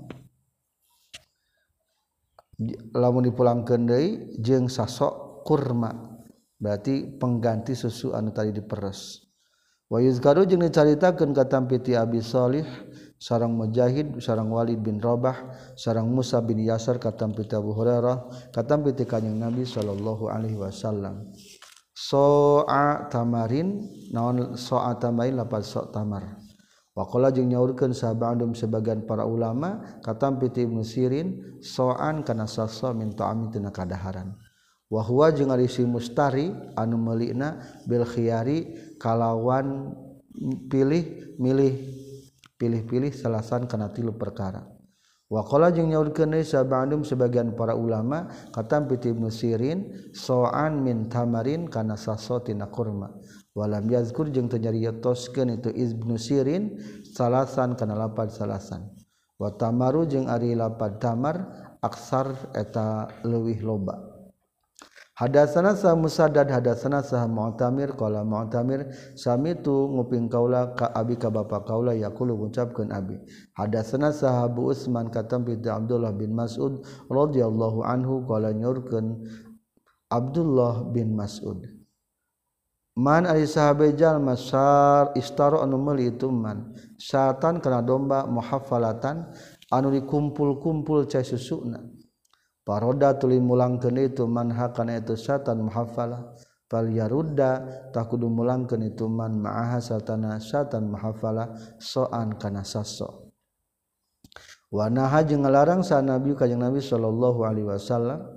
lamun dipulangkeun deui jeung sasok kurma berarti pengganti susu anu tadi diperes wa yuzkaru jeung dicaritakeun katam piti Abi Shalih sareng Mujahid sareng Walid bin Rabah sareng Musa bin Yasar katam piti Abu Hurairah katam piti kanjing Nabi sallallahu alaihi wasallam so'a tamarin naon so'a tamarin lapad so' tamar waqala jeung nyaurkeun sahabandum sebagian para ulama katam piti Ibnu Sirin so'an kana sasa min ta'ami tina kadaharan wa huwa jeung ari si mustari anu meulina bil khiyari kalawan pilih-pilih salasan kana tilu perkara waqala jeung nyaurkeun deui sahabandum sebagian para ulama katam piti Ibnu Sirin so'an min tamarin kana saso tina kurma walam yazkur jeung teu nyarioskeun itu Ibnu Sirin salasan kana lapad salasan wa tamaru jeung ari lapad tamar aksar eta leuwih loba hadatsana sa Musaddad hadatsana sa Mu'tamir qala Mu'tamir samitu nguping kaula ka abi ka bapa kaula yaqulu ngucapkeun abi hadatsana sa Abu Utsman katam bi Abdullah bin Mas'ud radhiyallahu anhu qala nyurkeun Abdullah bin Mas'ud man ari sahabe jalma sar istaro anu meuli itu man syatan kana domba muhaffalatan anu dikumpul-kumpul cai susuna paroda tuluy mulangkeun itu man hakana itu syatan muhaffalah fal yarudda takudu mulangkeun itu man ma'aha satana syatan muhaffalah so'an kana saso wa naha jeung ngalarang sa nabi kanjing Nabi sallallahu alaihi wasallam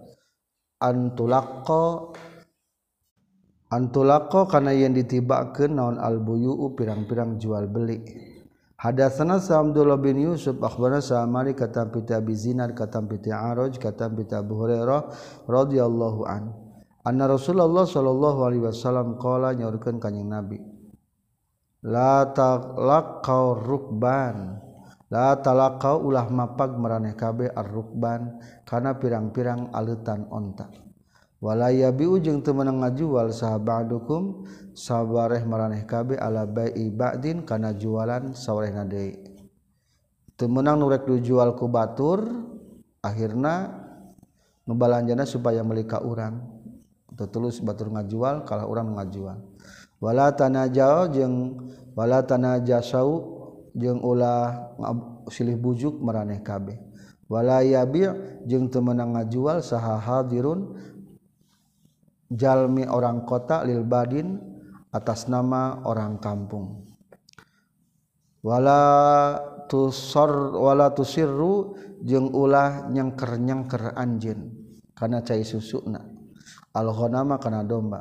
antulaqqa kana yen ditibakeun naon albuyuu pirang-pirang jual beli Hadatsana Abdullah bin Yusuf akhbarana Sa'mari katam piti Abi Zinad katam piti Araj katam piti Abu Hurairah radhiyallahu an. Anna Rasulullah sallallahu alaihi wasallam qala nyaurkeun kanjing Nabi. La talaqau rukban. La talaqau ulah mapag maraneh kabeh ar-rukban kana pirang-pirang aleutan onta. Wala yabiu jeung teu meunang ngajual saha ba'dukum sabareh maraneh kabeh ala bai'i ba'din kana jualan sawarehna deui. Teu meunang nu rek dijual ku batur akhirna nubalanjana supaya meuli ka urang. Teu tulus batur ngajual kalah urang ngajual. Wala tanajau jeung wala tanajasau jeung ulah silih bujuk maraneh kabeh. Wala yabi' jeung teu meunang ngajual saha hadirun jalmi orang kota lil badin atas nama orang kampung. Wala tusirru jeung ulah nyangker-nyangker anjeun kana cai susuna al ghanama kana domba.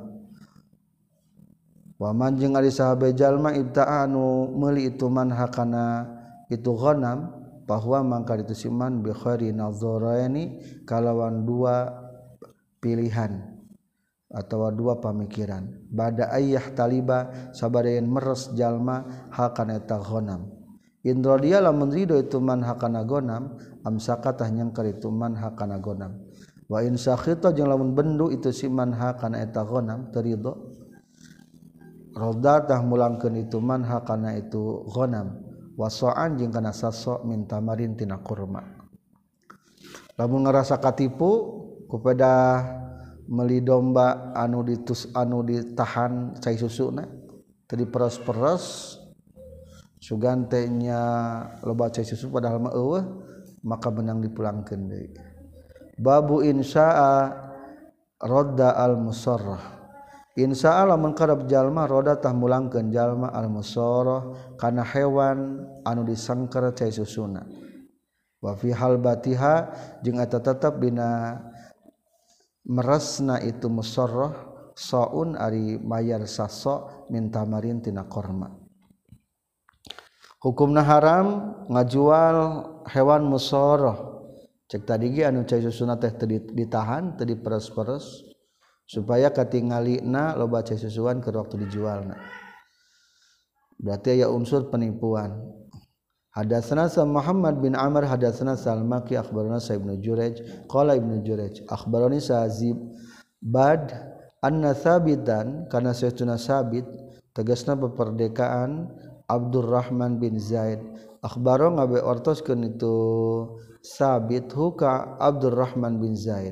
Wa man jeung ari sahabe jalma ibta'anu meuli itu man hakana itu ghanam bahwa mangka ditu siman bi khairi nazaraini kalawan dua pilihan atau dua pamikiran bada ayyah taliba sabarayan meres jalma hakana eta ghanam indra dia lamun ridho itu man hakana ghanam amsakatah nyangker itu man hakana ghanam wa in sakhita jeung lamun bendu itu si man hakana eta ghanam teu ridho rodatah mulangkeun itu man hakana itu ghanam wasa'an jeung kana saso min tamarin tina kurma lamun ngarasa katipu kepada meli domba anu ditahan cai susuna teu diperes-peres sugantenya loba cai susu padahal mah eueuh maka benang dipulangkeun deui. Babu insya'a radda al musarrah. Insya'a lamun karep jalma roda tah mulangkeun jalma al musarrah kana hewan anu disangker cai susuna. Wa fi halbatiha jeung eta tetep dina meresna itu musarrah saun ari mayar saso min tamarin tina korma. Hukumna haram ngajual hewan musarrah. Cek tadi ge anu cai susuna teh teu ditahan, teu diperes-peres supaya katingalina loba cai susuan keur waktu dijualna. Berarti aya unsur penipuan. Hadatsana Muhammad bin Amr hadatsana Salmaki akhbarana Sa Ibnu Jurayj qala Ibnu Jurayj akhbarani Sa'zib bad anna sabitan kana saytuna sabit tegasna beperdekaan Abdurrahman bin Zaid akhbaro ngabe ortoskeun itu sabit huka Abdurrahman bin Zaid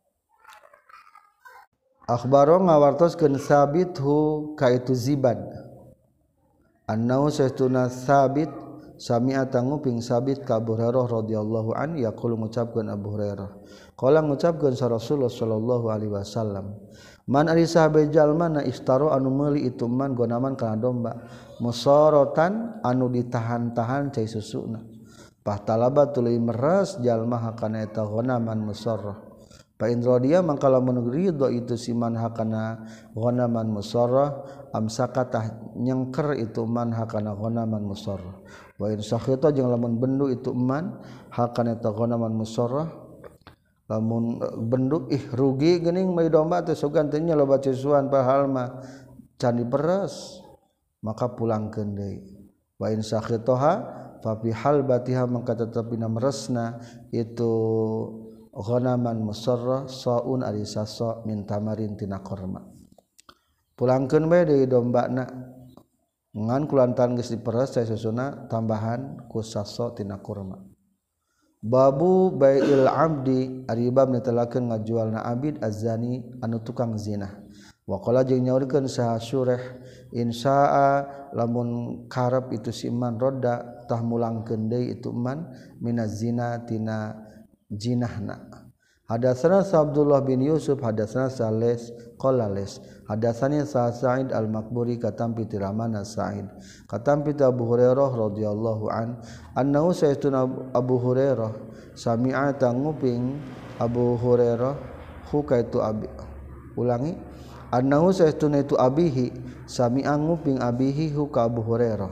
akhbaro ngawartoskeun sabit hu ka itu Zibad annau saytuna sabit sami'a tanguping sabit ka Abu Hurairah radhiyallahu an yaqulu ngucapkeun Abu Hurairah qala ngucapkeun sa Rasulullah sallallahu alaihi wasallam man ari sahabe jalma na istaro anu meuli itu man gonaman kana domba musaratan anu ditahan-tahan cai susuna pahtalaba tuluy meres jalma hakana eta gonaman musarrah fa in radiya mangka lamun ridho itu siman hakana gonaman musarrah amsakatah nyengker itu man hakana gonaman musarrah wa in sakhita jeung lamun bendu itu man hakana eta gonaman musarrah lamun bendu rugi geuning mai domba teh sogan teh nya loba cisuan padahal mah can diperes maka pulangkeun deui wa in sakhitaha fa fi halbatiha mangka tetepina meresna itu ghanaman musarrah saun ari sasa min tamarin tina korma pulangkeun bae deui dombana ngan kulantaran geus diperes cai susuna tambahan ku sasa tina kurma. Babu bai'il abdi ari bab netelakeun ngajualna abid azani anu tukang zina. Wa qala jeung nyaurkeun saha Syurah insya'a lamun karep itu si iman roda tah mulangkeun deui itu iman minaz zina tina jinahna. Hadatsana Abdullah bin Yusuf hadatsana Sales qala les hadatsani Sa'id al-Maqburi katampi tiramana Sa'id katampi Abu Hurairah radhiyallahu an annahu sayyiduna Abu Hurairah sami'a tanguping Abu Hurairah hu kaitu abi ulangi annahu sayyiduna itu abihi sami'a nguping abihi hu ka Abu Hurairah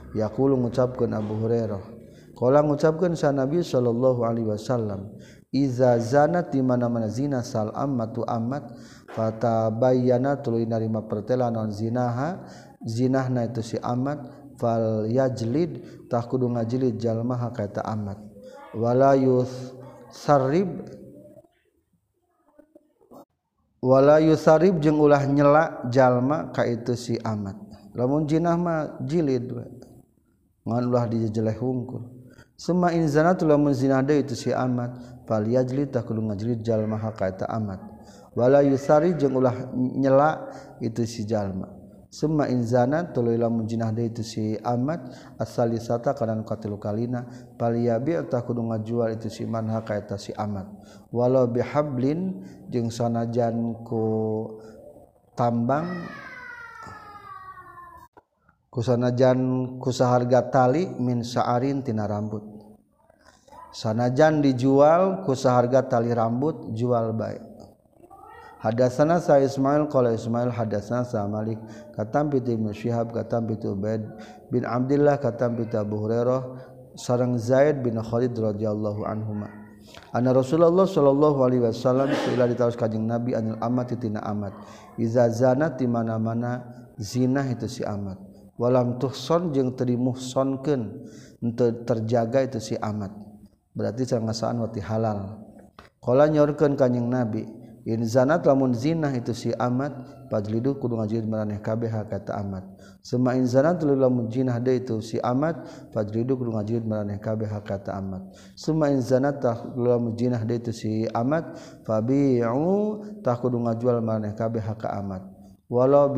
yaqulu ngucapkeun Abu Hurairah qala ngucapkeun sa Nabi sallallahu alaihi wasallam iza zanat di mana-mana zina sal ammatu ammat fatabayyana tuluy narima pertela non zinaha zinahna itu si amat fal yajlid tah kudu ngajlid jalmaha ka eta amat wala yusarib jeung ulah nyela jalma ka itu si amat lamun jinah mah jilid ngan ulah dijeleh hungkul summa in zanatu lamun zinah deui itu si amat fal yajlid tah kudu ngajlid jalmaha ka eta amat wala yusari jeung ulah nyela itu si jalma summa in zanat tuluy lamun jinah deui itu si amat asalisata kana katilu kalina paliyabi tah kudu ngajual itu si manha ka eta si amat walau bihablin jeung sanajan ku tambang kusanajan ku saharga tali min sa'arin tina rambut sanajan dijual ku saharga tali rambut jual bae. Hadatsana sa Ismail qala Ismail hadatsana sa Malik katam bi Ibnu Syihab katam bi Ubaid bin Abdullah katam bi Abu Hurairah sareng Zaid bin Khalid radhiyallahu anhuma anna Rasulullah sallallahu alaihi wasallam ila ditaros kanjing Nabi anil amat tina amat iza zanat di mana-mana zina itu si amat walam tuhson jeung teu dimuhsonkeun henteu terjaga itu si amat berarti sangasaan wati halal qala nyaurkeun kanjing Nabi in zanat lamun zinah itu si amat fajlidu kudu ngajilid maraneh kabeh kata amat summa in zanat lamun zinah deui itu si amat fajlidu kudu ngajilid maraneh kabeh kata amat summa in zanat lamun zinah deui itu si amat fabi'u tah kudu ngajual maraneh kabeh ka amat walau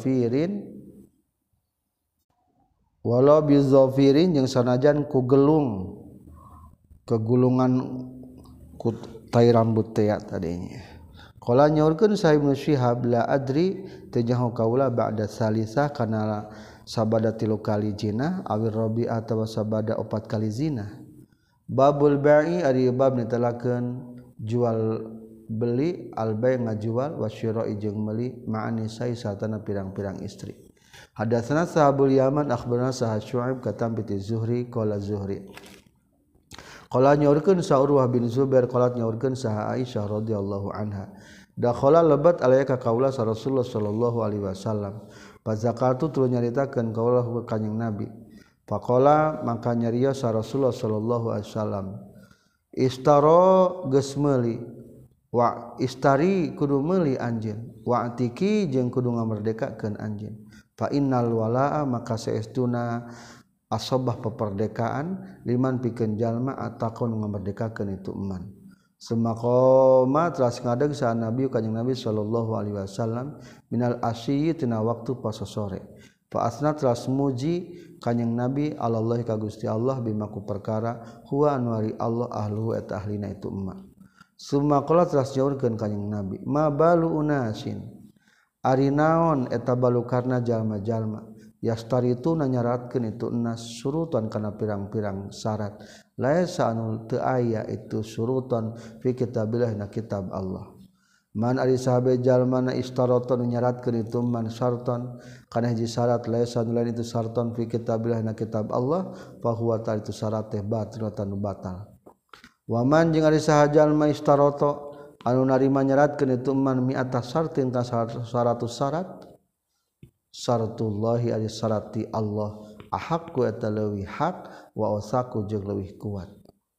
bizafirin jeung sanajan ku gelung kegulungan ku tai rambut teh tadinya. Qala nyaurkeun sa Ibnu Syihab la adri teu nyaho kaula ba'da salisah kana sabada 3 kali zina awir rabi atawa sabada 4 kali zina. Babul bai'i ari bab netelakeun jual beli al-bai' ngajual wasyira'i jeung meuli ma'ani sai satana pirang-pirang istri. Hadatsana sahabul Yaman akhbarana sa Syu'aib katam bi Zuhri qala Zuhri qala nyaurkeun sa Urwah bin Zubair qala nyaurkeun sa Aisyah radhiyallahu anha dakhala lebat alayka kaula sa Rasulullah sallallahu alaihi wasallam fazakatu tuluy nyaritakeun kaula ka kanjing Nabi faqala maka nyarios sa Rasulullah sallallahu alaihi wasallam istara geus meuli wa istari kudu meuli anjeun wa atiki jeung kudu ngamerdekakeun anjeun fa innal walaa maka saestuna asobah peperdekaan liman pikeun jalma ataqon ngamerdekakeun itu eman Semakoma telah ngadeg sa Nabi kanjing Nabi sallallahu alaihi wasallam minal asyi tina waktu pas sore. Fa asna telah muji kanjing Nabi Allah ka Gusti Allah bima ku perkara huwa anwari Allah ahlu eta ahlina itu emma. Summa qala telah nyaurkeun kanjing Nabi ma balu unasin ari naon eta balu karna jalma-jalma yastaritu nanyaratkeun itu enas surutan kana pirang-pirang syarat laisa anu teu aya itu surutan fi kitabillah na kitab Allah man ari sahabe jalmana istaraton nyaratkeun itu man syarton kana hiji syarat laisa anu lain itu syarton fi kitabillah na kitab Allah fa huwa ta itu syarat teh batilatan batal wa man jeung ari saha jalma istarato anu narima nyaratkeun itu man mi'ata syartin ka 100 syarat syaratullahi ari syarati Allah ahaqu eta leuwih hak wa usaku jeung leuwih kuat.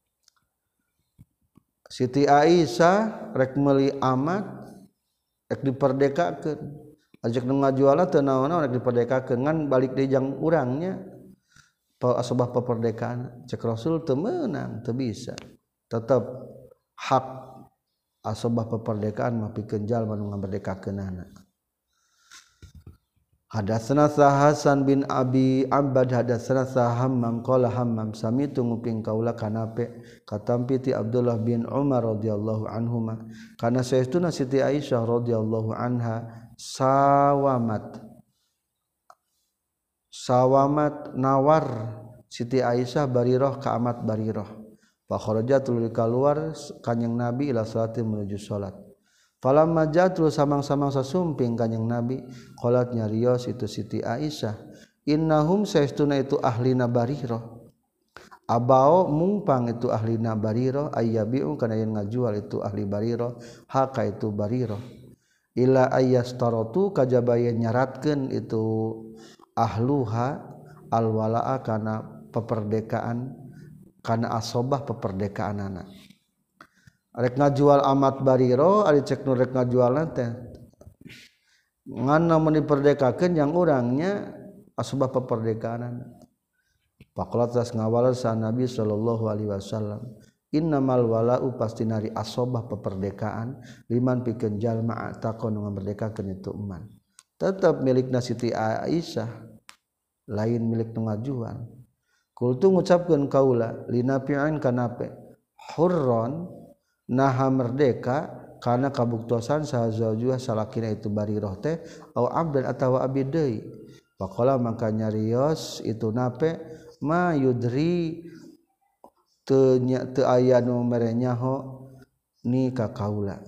Siti Aisyah rek meuli amat rek diperdekakeun ajak nu ngajualna teu naon-naon rek diperdekakeun ngan balik deui jang urangnya asbah peperdekaan cek Rasul teu meunang teu bisa tetep hak asbah peperdekaan mah pikeun jalma nu ngamerdekakeunana. Hadatsana Hasan bin Abi Abbad hadatsana Hammam qala Hammam samitu nguping kaula kanape katampi ti Abdullah bin Umar radhiyallahu anhuma kana saestuna Siti Aisyah radhiyallahu anha sawamat nawar Siti Aisyah Barirah ka amat Barirah fa kharajat tuluy kaluar kanjing Nabi ila salati menuju salat. Falamma jatul samang-samang sasumping kanjing Nabi qalat nyarios itu Siti Aisyah innahum saestuna itu ahlina Barirah abao mumpang itu ahlina Barirah ayyabiu kana yen ngajual itu ahli Barirah haka itu Barirah ila ayyastaratu kajaba yen nyaratkeun itu ahluha alwalaa kana peperdekaan kana asobah peperdekaanana rek ngajual amat Barirah ari cek nu rek ngajualna teh ngan namun diperdekakeun yang urangnya asobah peperdekaanana faqala tas ngawal sa Nabi sallallahu alaihi wasallam innamal wala'u pasti nari asobah peperdekaan liman pikeun jalma takon ngamberdekakeun itu eman tetap milikna Siti Aisyah lain milik nu ngajual kultu ngucapkeun kaula linafi'an kanape hurron naha merdeka kana kabuktosan saha zaujuha salakina itu Barirah teh au abdan atawa abdi deui faqala maka nyarios itu nape ma yudri teu aya nu mere nyaho ni ka kaula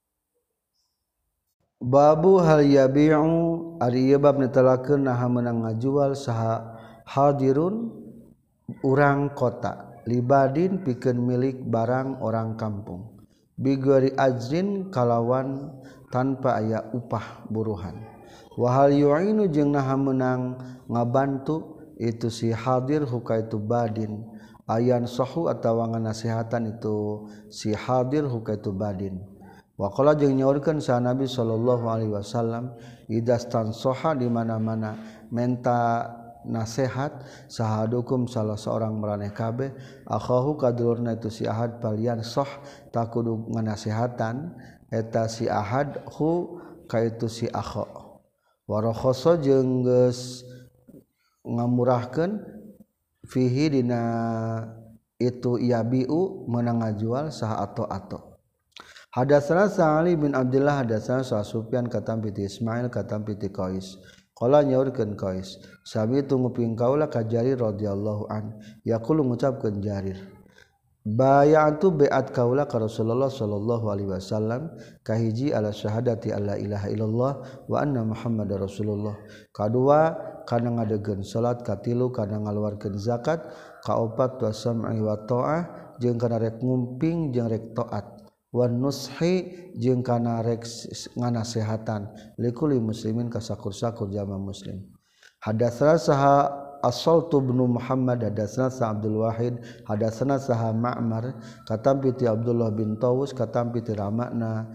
babu hal yabi'u ari ieu bab netelakeun naha meunang ngajual saha hadirun urang kota libadin pikeun milik barang orang kampung bigari ajrin kalawan tanpa aya upah buruhan wahal yu'inu jeung naha meunang ngabantu itu si hadir huka itu badin ayan sahu atawa nganasihatan itu si hadir huka itu badin waqala jeung nyaurkeun sa Nabi sallallahu alaihi wasallam idastan soha di mana-mana menta nasihat sahadukum salah seorang maraneh kabeh akhahu kadulurna itu si ahad palian soh takudu nganasihatan eta si ahad hu ka itu si akha warakhoso jeung geus ngamurahkeun fihi dina itu yabiu meunang ngajual saha ato-ato hadatsana Ali bin Abdullah hadatsana Sufyan katam piti Ismail katam piti Qais qala nyaurkeun Qais sabi tu nguping kaula ka Jarir radhiyallahu an yaqulu ngucapkeun Jarir bay'atu bai'at kaula ka Rasulullah sallallahu alaihi wasallam kahiji ala syahadati alla ilaha illallah wa anna muhammadar rasulullah kadua kana ngadegeun salat katilu kana ngaluarkeun zakat kaopat wa sam'i wa ta'ah jeung kana rek ngumping jeung rek taat wan nushi jeung kana rek nganasehatan likulli muslimin ka sakur-sakur jamaah muslim hadatsana saha As-Saltu bin Muhammad hadatsana sa Abdul Wahid hadatsana saha Ma'mar katam piti Abdullah bin Tawus katam piti ramakna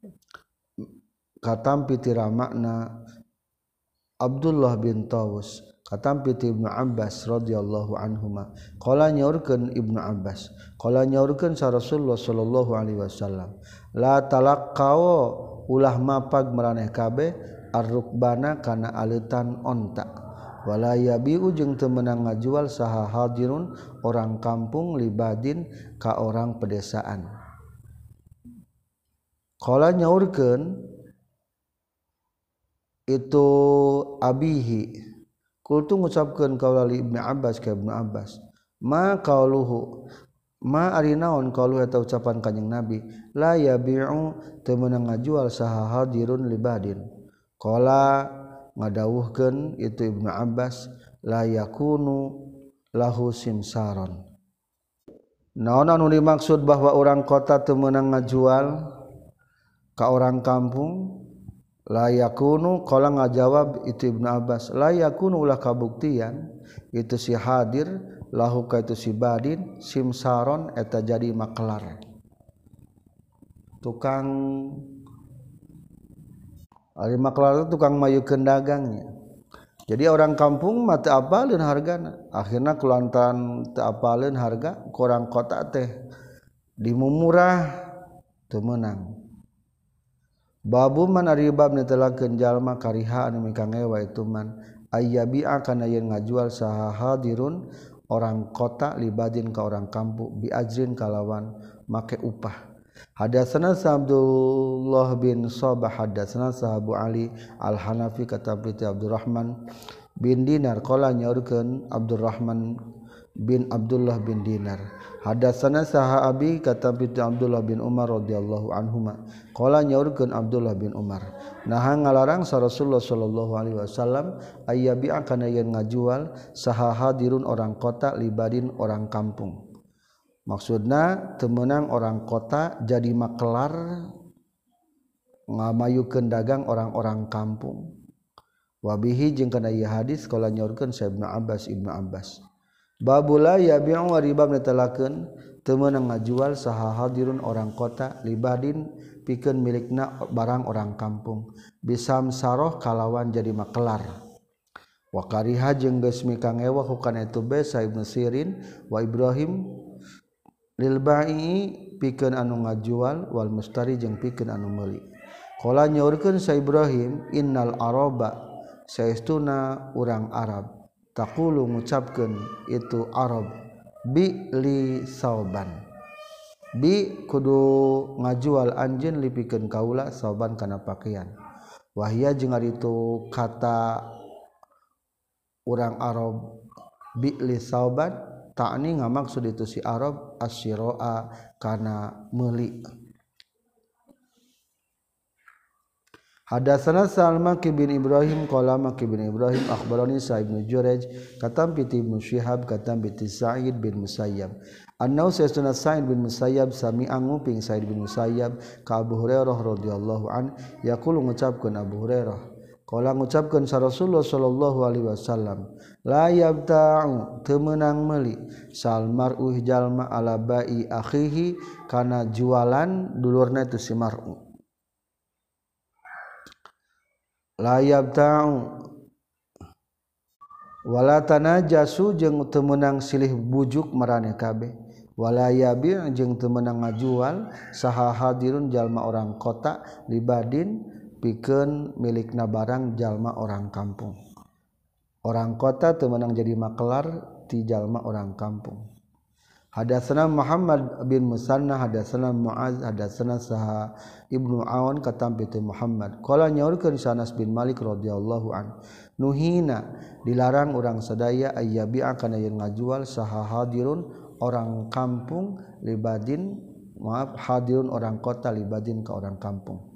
Abdullah bin Tawus katam piti Ibnu Abbas radhiyallahu anhuma qala nyaurkeun Ibnu Abbas qala nyaurkeun sa Rasulullah sallallahu alaihi wasallam la talaqqaw ulah mapag maraneh kabeh ar-rukbana kana aleutan onta wala yabi'u jeung teu meunang ngajual saha hadirun orang kampung libadin ka orang pedesaan qala nyaurkeun itu abihi kultu ngucapkeun kaula li Ibnu Abbas ka Ibnu Abbas ma qauluhu ma ari naon qauluhu eta ucapan kanjing Nabi la yabi'u teu meunang ngajual saha hadirun libadin qala ngadawuhkeun itu Ibnu Abbas la yakunu lahu simsaron naon anu dimaksud bahwa orang kota teu meunang ngajual ka orang kampung la yakunu qala ngajawab itu Ibnu Abbas la yakunu ulah kabuktian itu si hadir lahu ka itu si badin simsaron eta jadi maklar tukang ari maklar itu tukang mayukeun dagangnya jadi orang kampung mah teu apaleun hargana akhirna kulantaran teu apaleun harga ku orang kota teh dimumurah teu meunang babu man ari bab netelakeun jalma kariha anu mika ngewa itu man ayyabi'a kana yen ngajual saha hadirun orang kota libadin ka orang kampung bi ajrin kalawan make upah hadatsana Abdullah bin Sabah hadatsana Abu Ali Al-Hanafi kata piti Abdurrahman bin Dinar qala nyaurkeun Abdurrahman bin Abdullah bin Dinar hadatsana saha abi kata piti Abdullah bin Umar radhiyallahu anhuma qala nyaurkeun Abdullah bin Umar Nah ngalarang sa Rasulullah sallallahu alaihi wasallam ayyabi'a kana yen ngajual saha hadirun orang kota libadin orang kampung. Maksudna temenang orang kota jadi makelar ngamayukeun dagang orang-orang kampung. Wabihi jeung kana ieu hadis qala nyorkeun sa Ibnu Abbas. Babula yabi'u riba netelakeun teu meunang ngajual saha hadirun orang kota libadin pikeun milikna barang orang kampung bisam saroh kalawan jadi makelar wa kariha jeung geus mikang ewa hukana itu besa Ibnu Sirin wa Ibrahim lil bai'i pikeun anu ngajual wal mustari jeung pikeun anu meuli qala nyaurkeun sa Ibrahim innal araba saestuna urang Arab taqulu ngucapkeun itu Arab bi li sauban bi kudu ngajual anjeun lipikeun kaula sauban kana pakaian wahia jeung ari itu kata urang Arab bi li sauban ta'ni ngamaksud itu si Arab asyiroa kana meuli. Hadatsana Salman bin Ibrahim qala Maki bin Ibrahim akhbarani Sa'id bin Jurayj katam bi Ibnu Syihab katam bi Sa'id bin Musayyab annau sa'idna Sa'id bin Musayyab sami'a nguping Sa'id bin Musayyab ka Abu Hurairah radhiyallahu an yaqulu ngucapkeun Abu Hurairah qala ngucapkeun sa Rasulullah sallallahu alaihi wasallam la yabta'u teu meunang meuli sal mar'u jalma ala ba'i akhihi kana jualan dulurna itu si mar'u la yabta'u wala tanajasu jeung teu meunang silih bujuk maraneh kabeh wala yabi' jeung teu meunang ngajual saha hadirun jalma orang kota libadin pikeun milikna barang jalma orang kampung. Orang kota teu meunang jadi makelar ti jalma orang kampung. Hadatsana Muhammad bin Musanna hadatsana Muaz hadatsana saha Ibnu Aun katam bi Muhammad qala nyaurkeun Anas bin Malik radhiyallahu an nuhina dilarang urang sadaya ayyabi'a kana yen ngajual saha hadirun orang kampung libadin hadirun orang kota libadin ka orang kampung.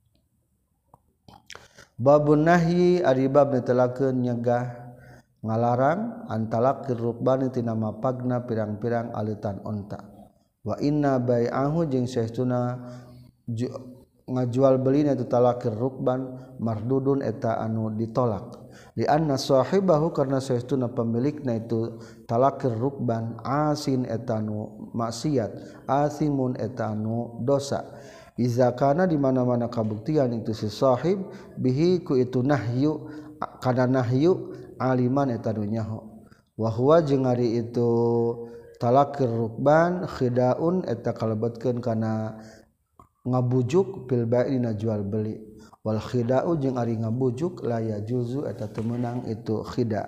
Babun nahyi ari bab netelakeun nyegah ngalarang antalaqir rukbani tina mapagna pirang-pirang aleutan onta wa inna bai'ahu jeung saestuna ngajual belina itu talaqir rukban mardudun eta anu ditolak li anna sahibahu karna saestuna pemilikna itu talaqir rukban asin eta anu maksiat asimun eta anu dosa iza kana di mana-mana kabuktian itu si sahib bihi ku itu nahyu kana nahyu aliman eta nyaho wa huwa jeung ari itu talaqir rukban khidaun eta kalebetkeun kana ngabujuk bil bai'ina jual beli wal khida'u jeung ari ngabujuk la yajuzu eta teu meunang itu khida.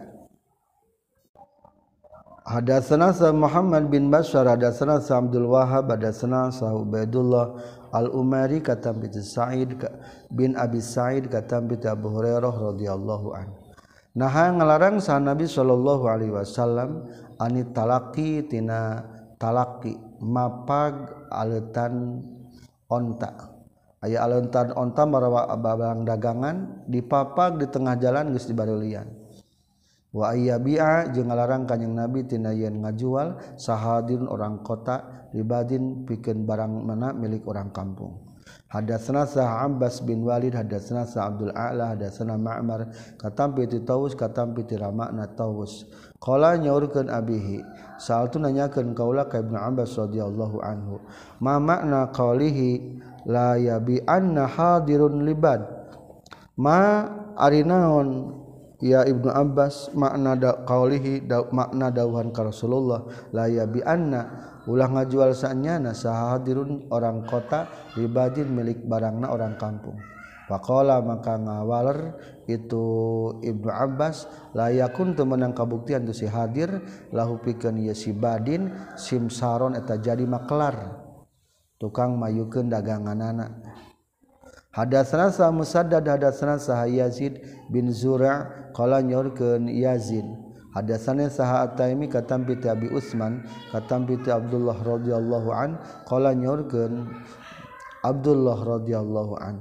Hadatsana Muhammad bin Bashar hadatsana Abdul Wahhab hadatsana Ubaidullah al-Umari katam bi Sa'id bin Abi Sa'id katam bi Abu Hurairah radhiyallahu anhu nah ngalarang sa Nabi sallallahu alaihi wasallam ani talaqi tina talaqi mapag aleutan onta aya aleutan onta marawa barang dagangan dipapag di tengah jalan geus dibareulian wa ayyabi'a jeung ngalarang kanjing Nabi tina yen ngajual sahadirun orang kota libadin pikeun barang mana milik orang kampung. Hadatsana Abbas bin Walid hadatsana Abdul A'la hadatsana Ma'mar katam bi Taus katam bi Ramakna Taus qala nyaurkeun abihi sa'altu nanyakeun kaula ka Ibnu Abbas radhiyallahu anhu ma makna qalihi la yabi anna hadirun libad ma ari naon ya Ibnu Abbas makna qalihi makna dawuhan ka Rasulullah la yabi anna ulah ngajual sanyana sahadirun orang kota libadin milik barangna orang kampung. Faqala maka ngawaler itu Ibnu Abbas la yakun teu meunang kabuktian tu si hadir lahu pikeun ieu si badin simsaron eta jadi makelar tukang mayukeun daganganana. Hadatsana sa Musaddad hadatsana sa Yazid bin Zura' qala nyorkeun Yazid hadatsana saha At-Taimi katam bi Abi Utsman katam bi Abdullah radhiyallahu an qala nyorkeun Abdullah radhiyallahu an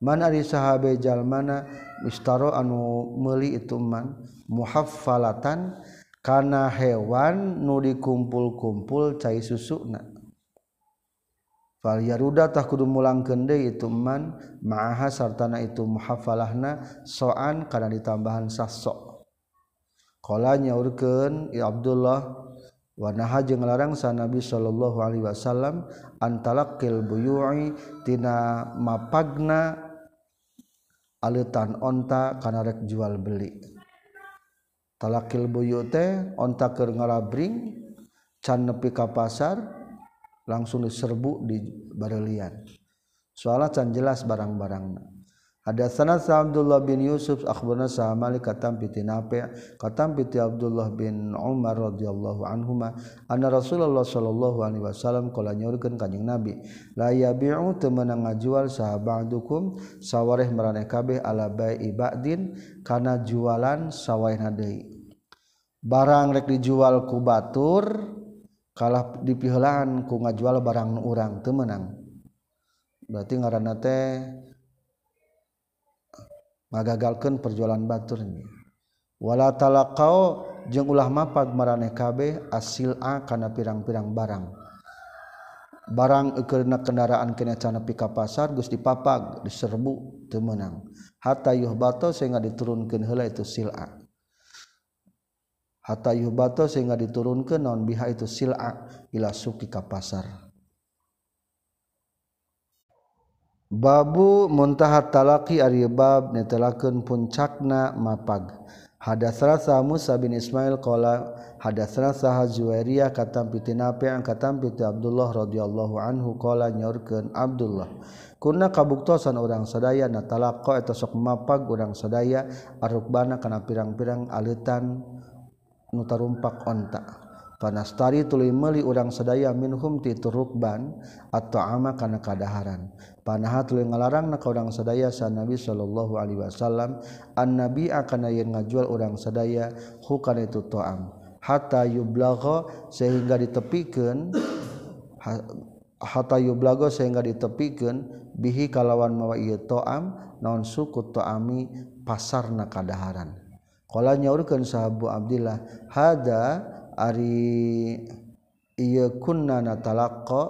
man ari sahabe jalmana istaro anu meuli itu man muhaffalatan kana hewan nu dikumpul-kumpul cai susuna fal yaruda tah kudu mulangkeun deui itu man ma'aha sartana itu muhaffalahna soan kana ditambahan saso qala nyaurkeun ya Abdullah wa naha jeung larang sa Nabi sallallahu alaihi wasallam antalaqil buyu'i tina mapagna aleutan onta kana rek jual beli talaqil buyu' teh onta keur ngarabring can nepi ka pasar langsung diserbu di barelian soalna can jelas barang-barangna hadatsana Abdullah bin Yusuf akhbarana sa Malik katam piti Nafi' katam piti Abdullah bin Umar radhiyallahu anhuma anna Rasulullah sallallahu alaihi wasallam qala nyaurkeun kanjing Nabi la yabi'u teu meunang ngajual sahabadukum sawareh maraneh kabeh ala bai'i ba'din kana jualan sawaehna deui barang rek dijual ku batur kalah dipiheulaan ku ngajual barang nu urang teu meunang berarti ngaranna teh ngagagalkeun perjualan baturnya wala talaqau jeung ulah mapag maraneh kabeh asil'a kana pirang-pirang barang eukeurna kendaraan kena can nepi ka pasar geus dipapag diserbu teu meunang hatta yuhbato sehingga diturunkeun heula itu sil'a hatta yuhbato sehingga diturunkeun naon biha itu sil'a ila suki ka pasar Babu muntahat talaqi ari bab netelakeun puncakna mapag. Hadatsana Musa bin Ismail qala hadatsana Zuwairiyah katam piti Nafi' katam piti Abdullah radhiyallahu anhu qala nyaurkeun Abdullah kunna kabuktosan urang sadaya natalaqqa eta sok mapag urang sadaya arukbana kana pirang-pirang aleutan nu tarumpak onta panastari tuluy meuli urang sadaya minhum ti turukban atau ama kana kadaharan panaha tuluy ngalarangna ka urang sadaya sa Nabi sallallahu alaihi wasallam annabi akana yen ngajual urang sadaya hu kana itu ta'am hatta yublagha sehingga ditepikeun bihi kalawan mawa ieu ta'am naon suku ta'ami pasarna kadaharan qala nyaurkeun sahabu Abdillah hada ari ieu kunna natalaqqa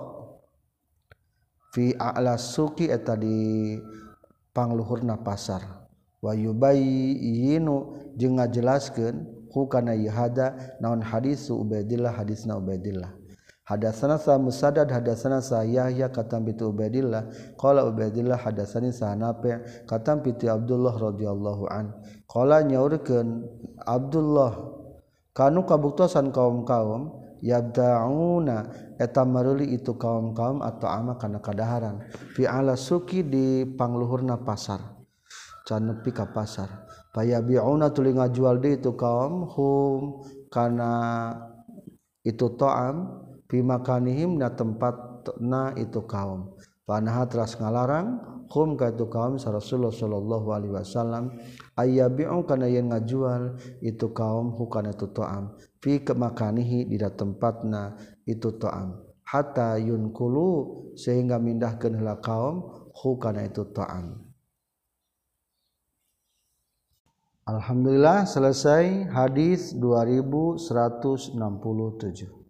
fi a'la suqi eta di pangluhurna pasar wa yubayyinu jeung ngajelaskeun hukana hada naon hadis Ubaidillah hadisna Ubaidillah hadatsana sa Musaddad hadatsana sa Yahya katam bi Ubaidillah qala Ubaidillah hadatsani sa Nafi' katam bi Abdullah radhiyallahu an qala nyaurkeun Abdullah kanu kabuktosan kaum-kaum yabda'una eta meuli itu kaum-kaum atau ama kana kadaharan fi ala suki di pangluhurna pasar can nepi ka pasar payabi'una tuluy ngajual deui itu kaum hum kana itu ta'am fi makanihim na tempatna itu kaum panaha teras ngalarang hum ka itu kaum sa Rasulullah sallallahu alaihi wasallam ayyabi'u kana yen ngajual itu kaum hukana itu ta'am fi kemakanihi di tempatna itu ta'am hatta yunkulu sehingga mindahkeun heula kaum hukana itu ta'am. Alhamdulillah selesai hadis 2167.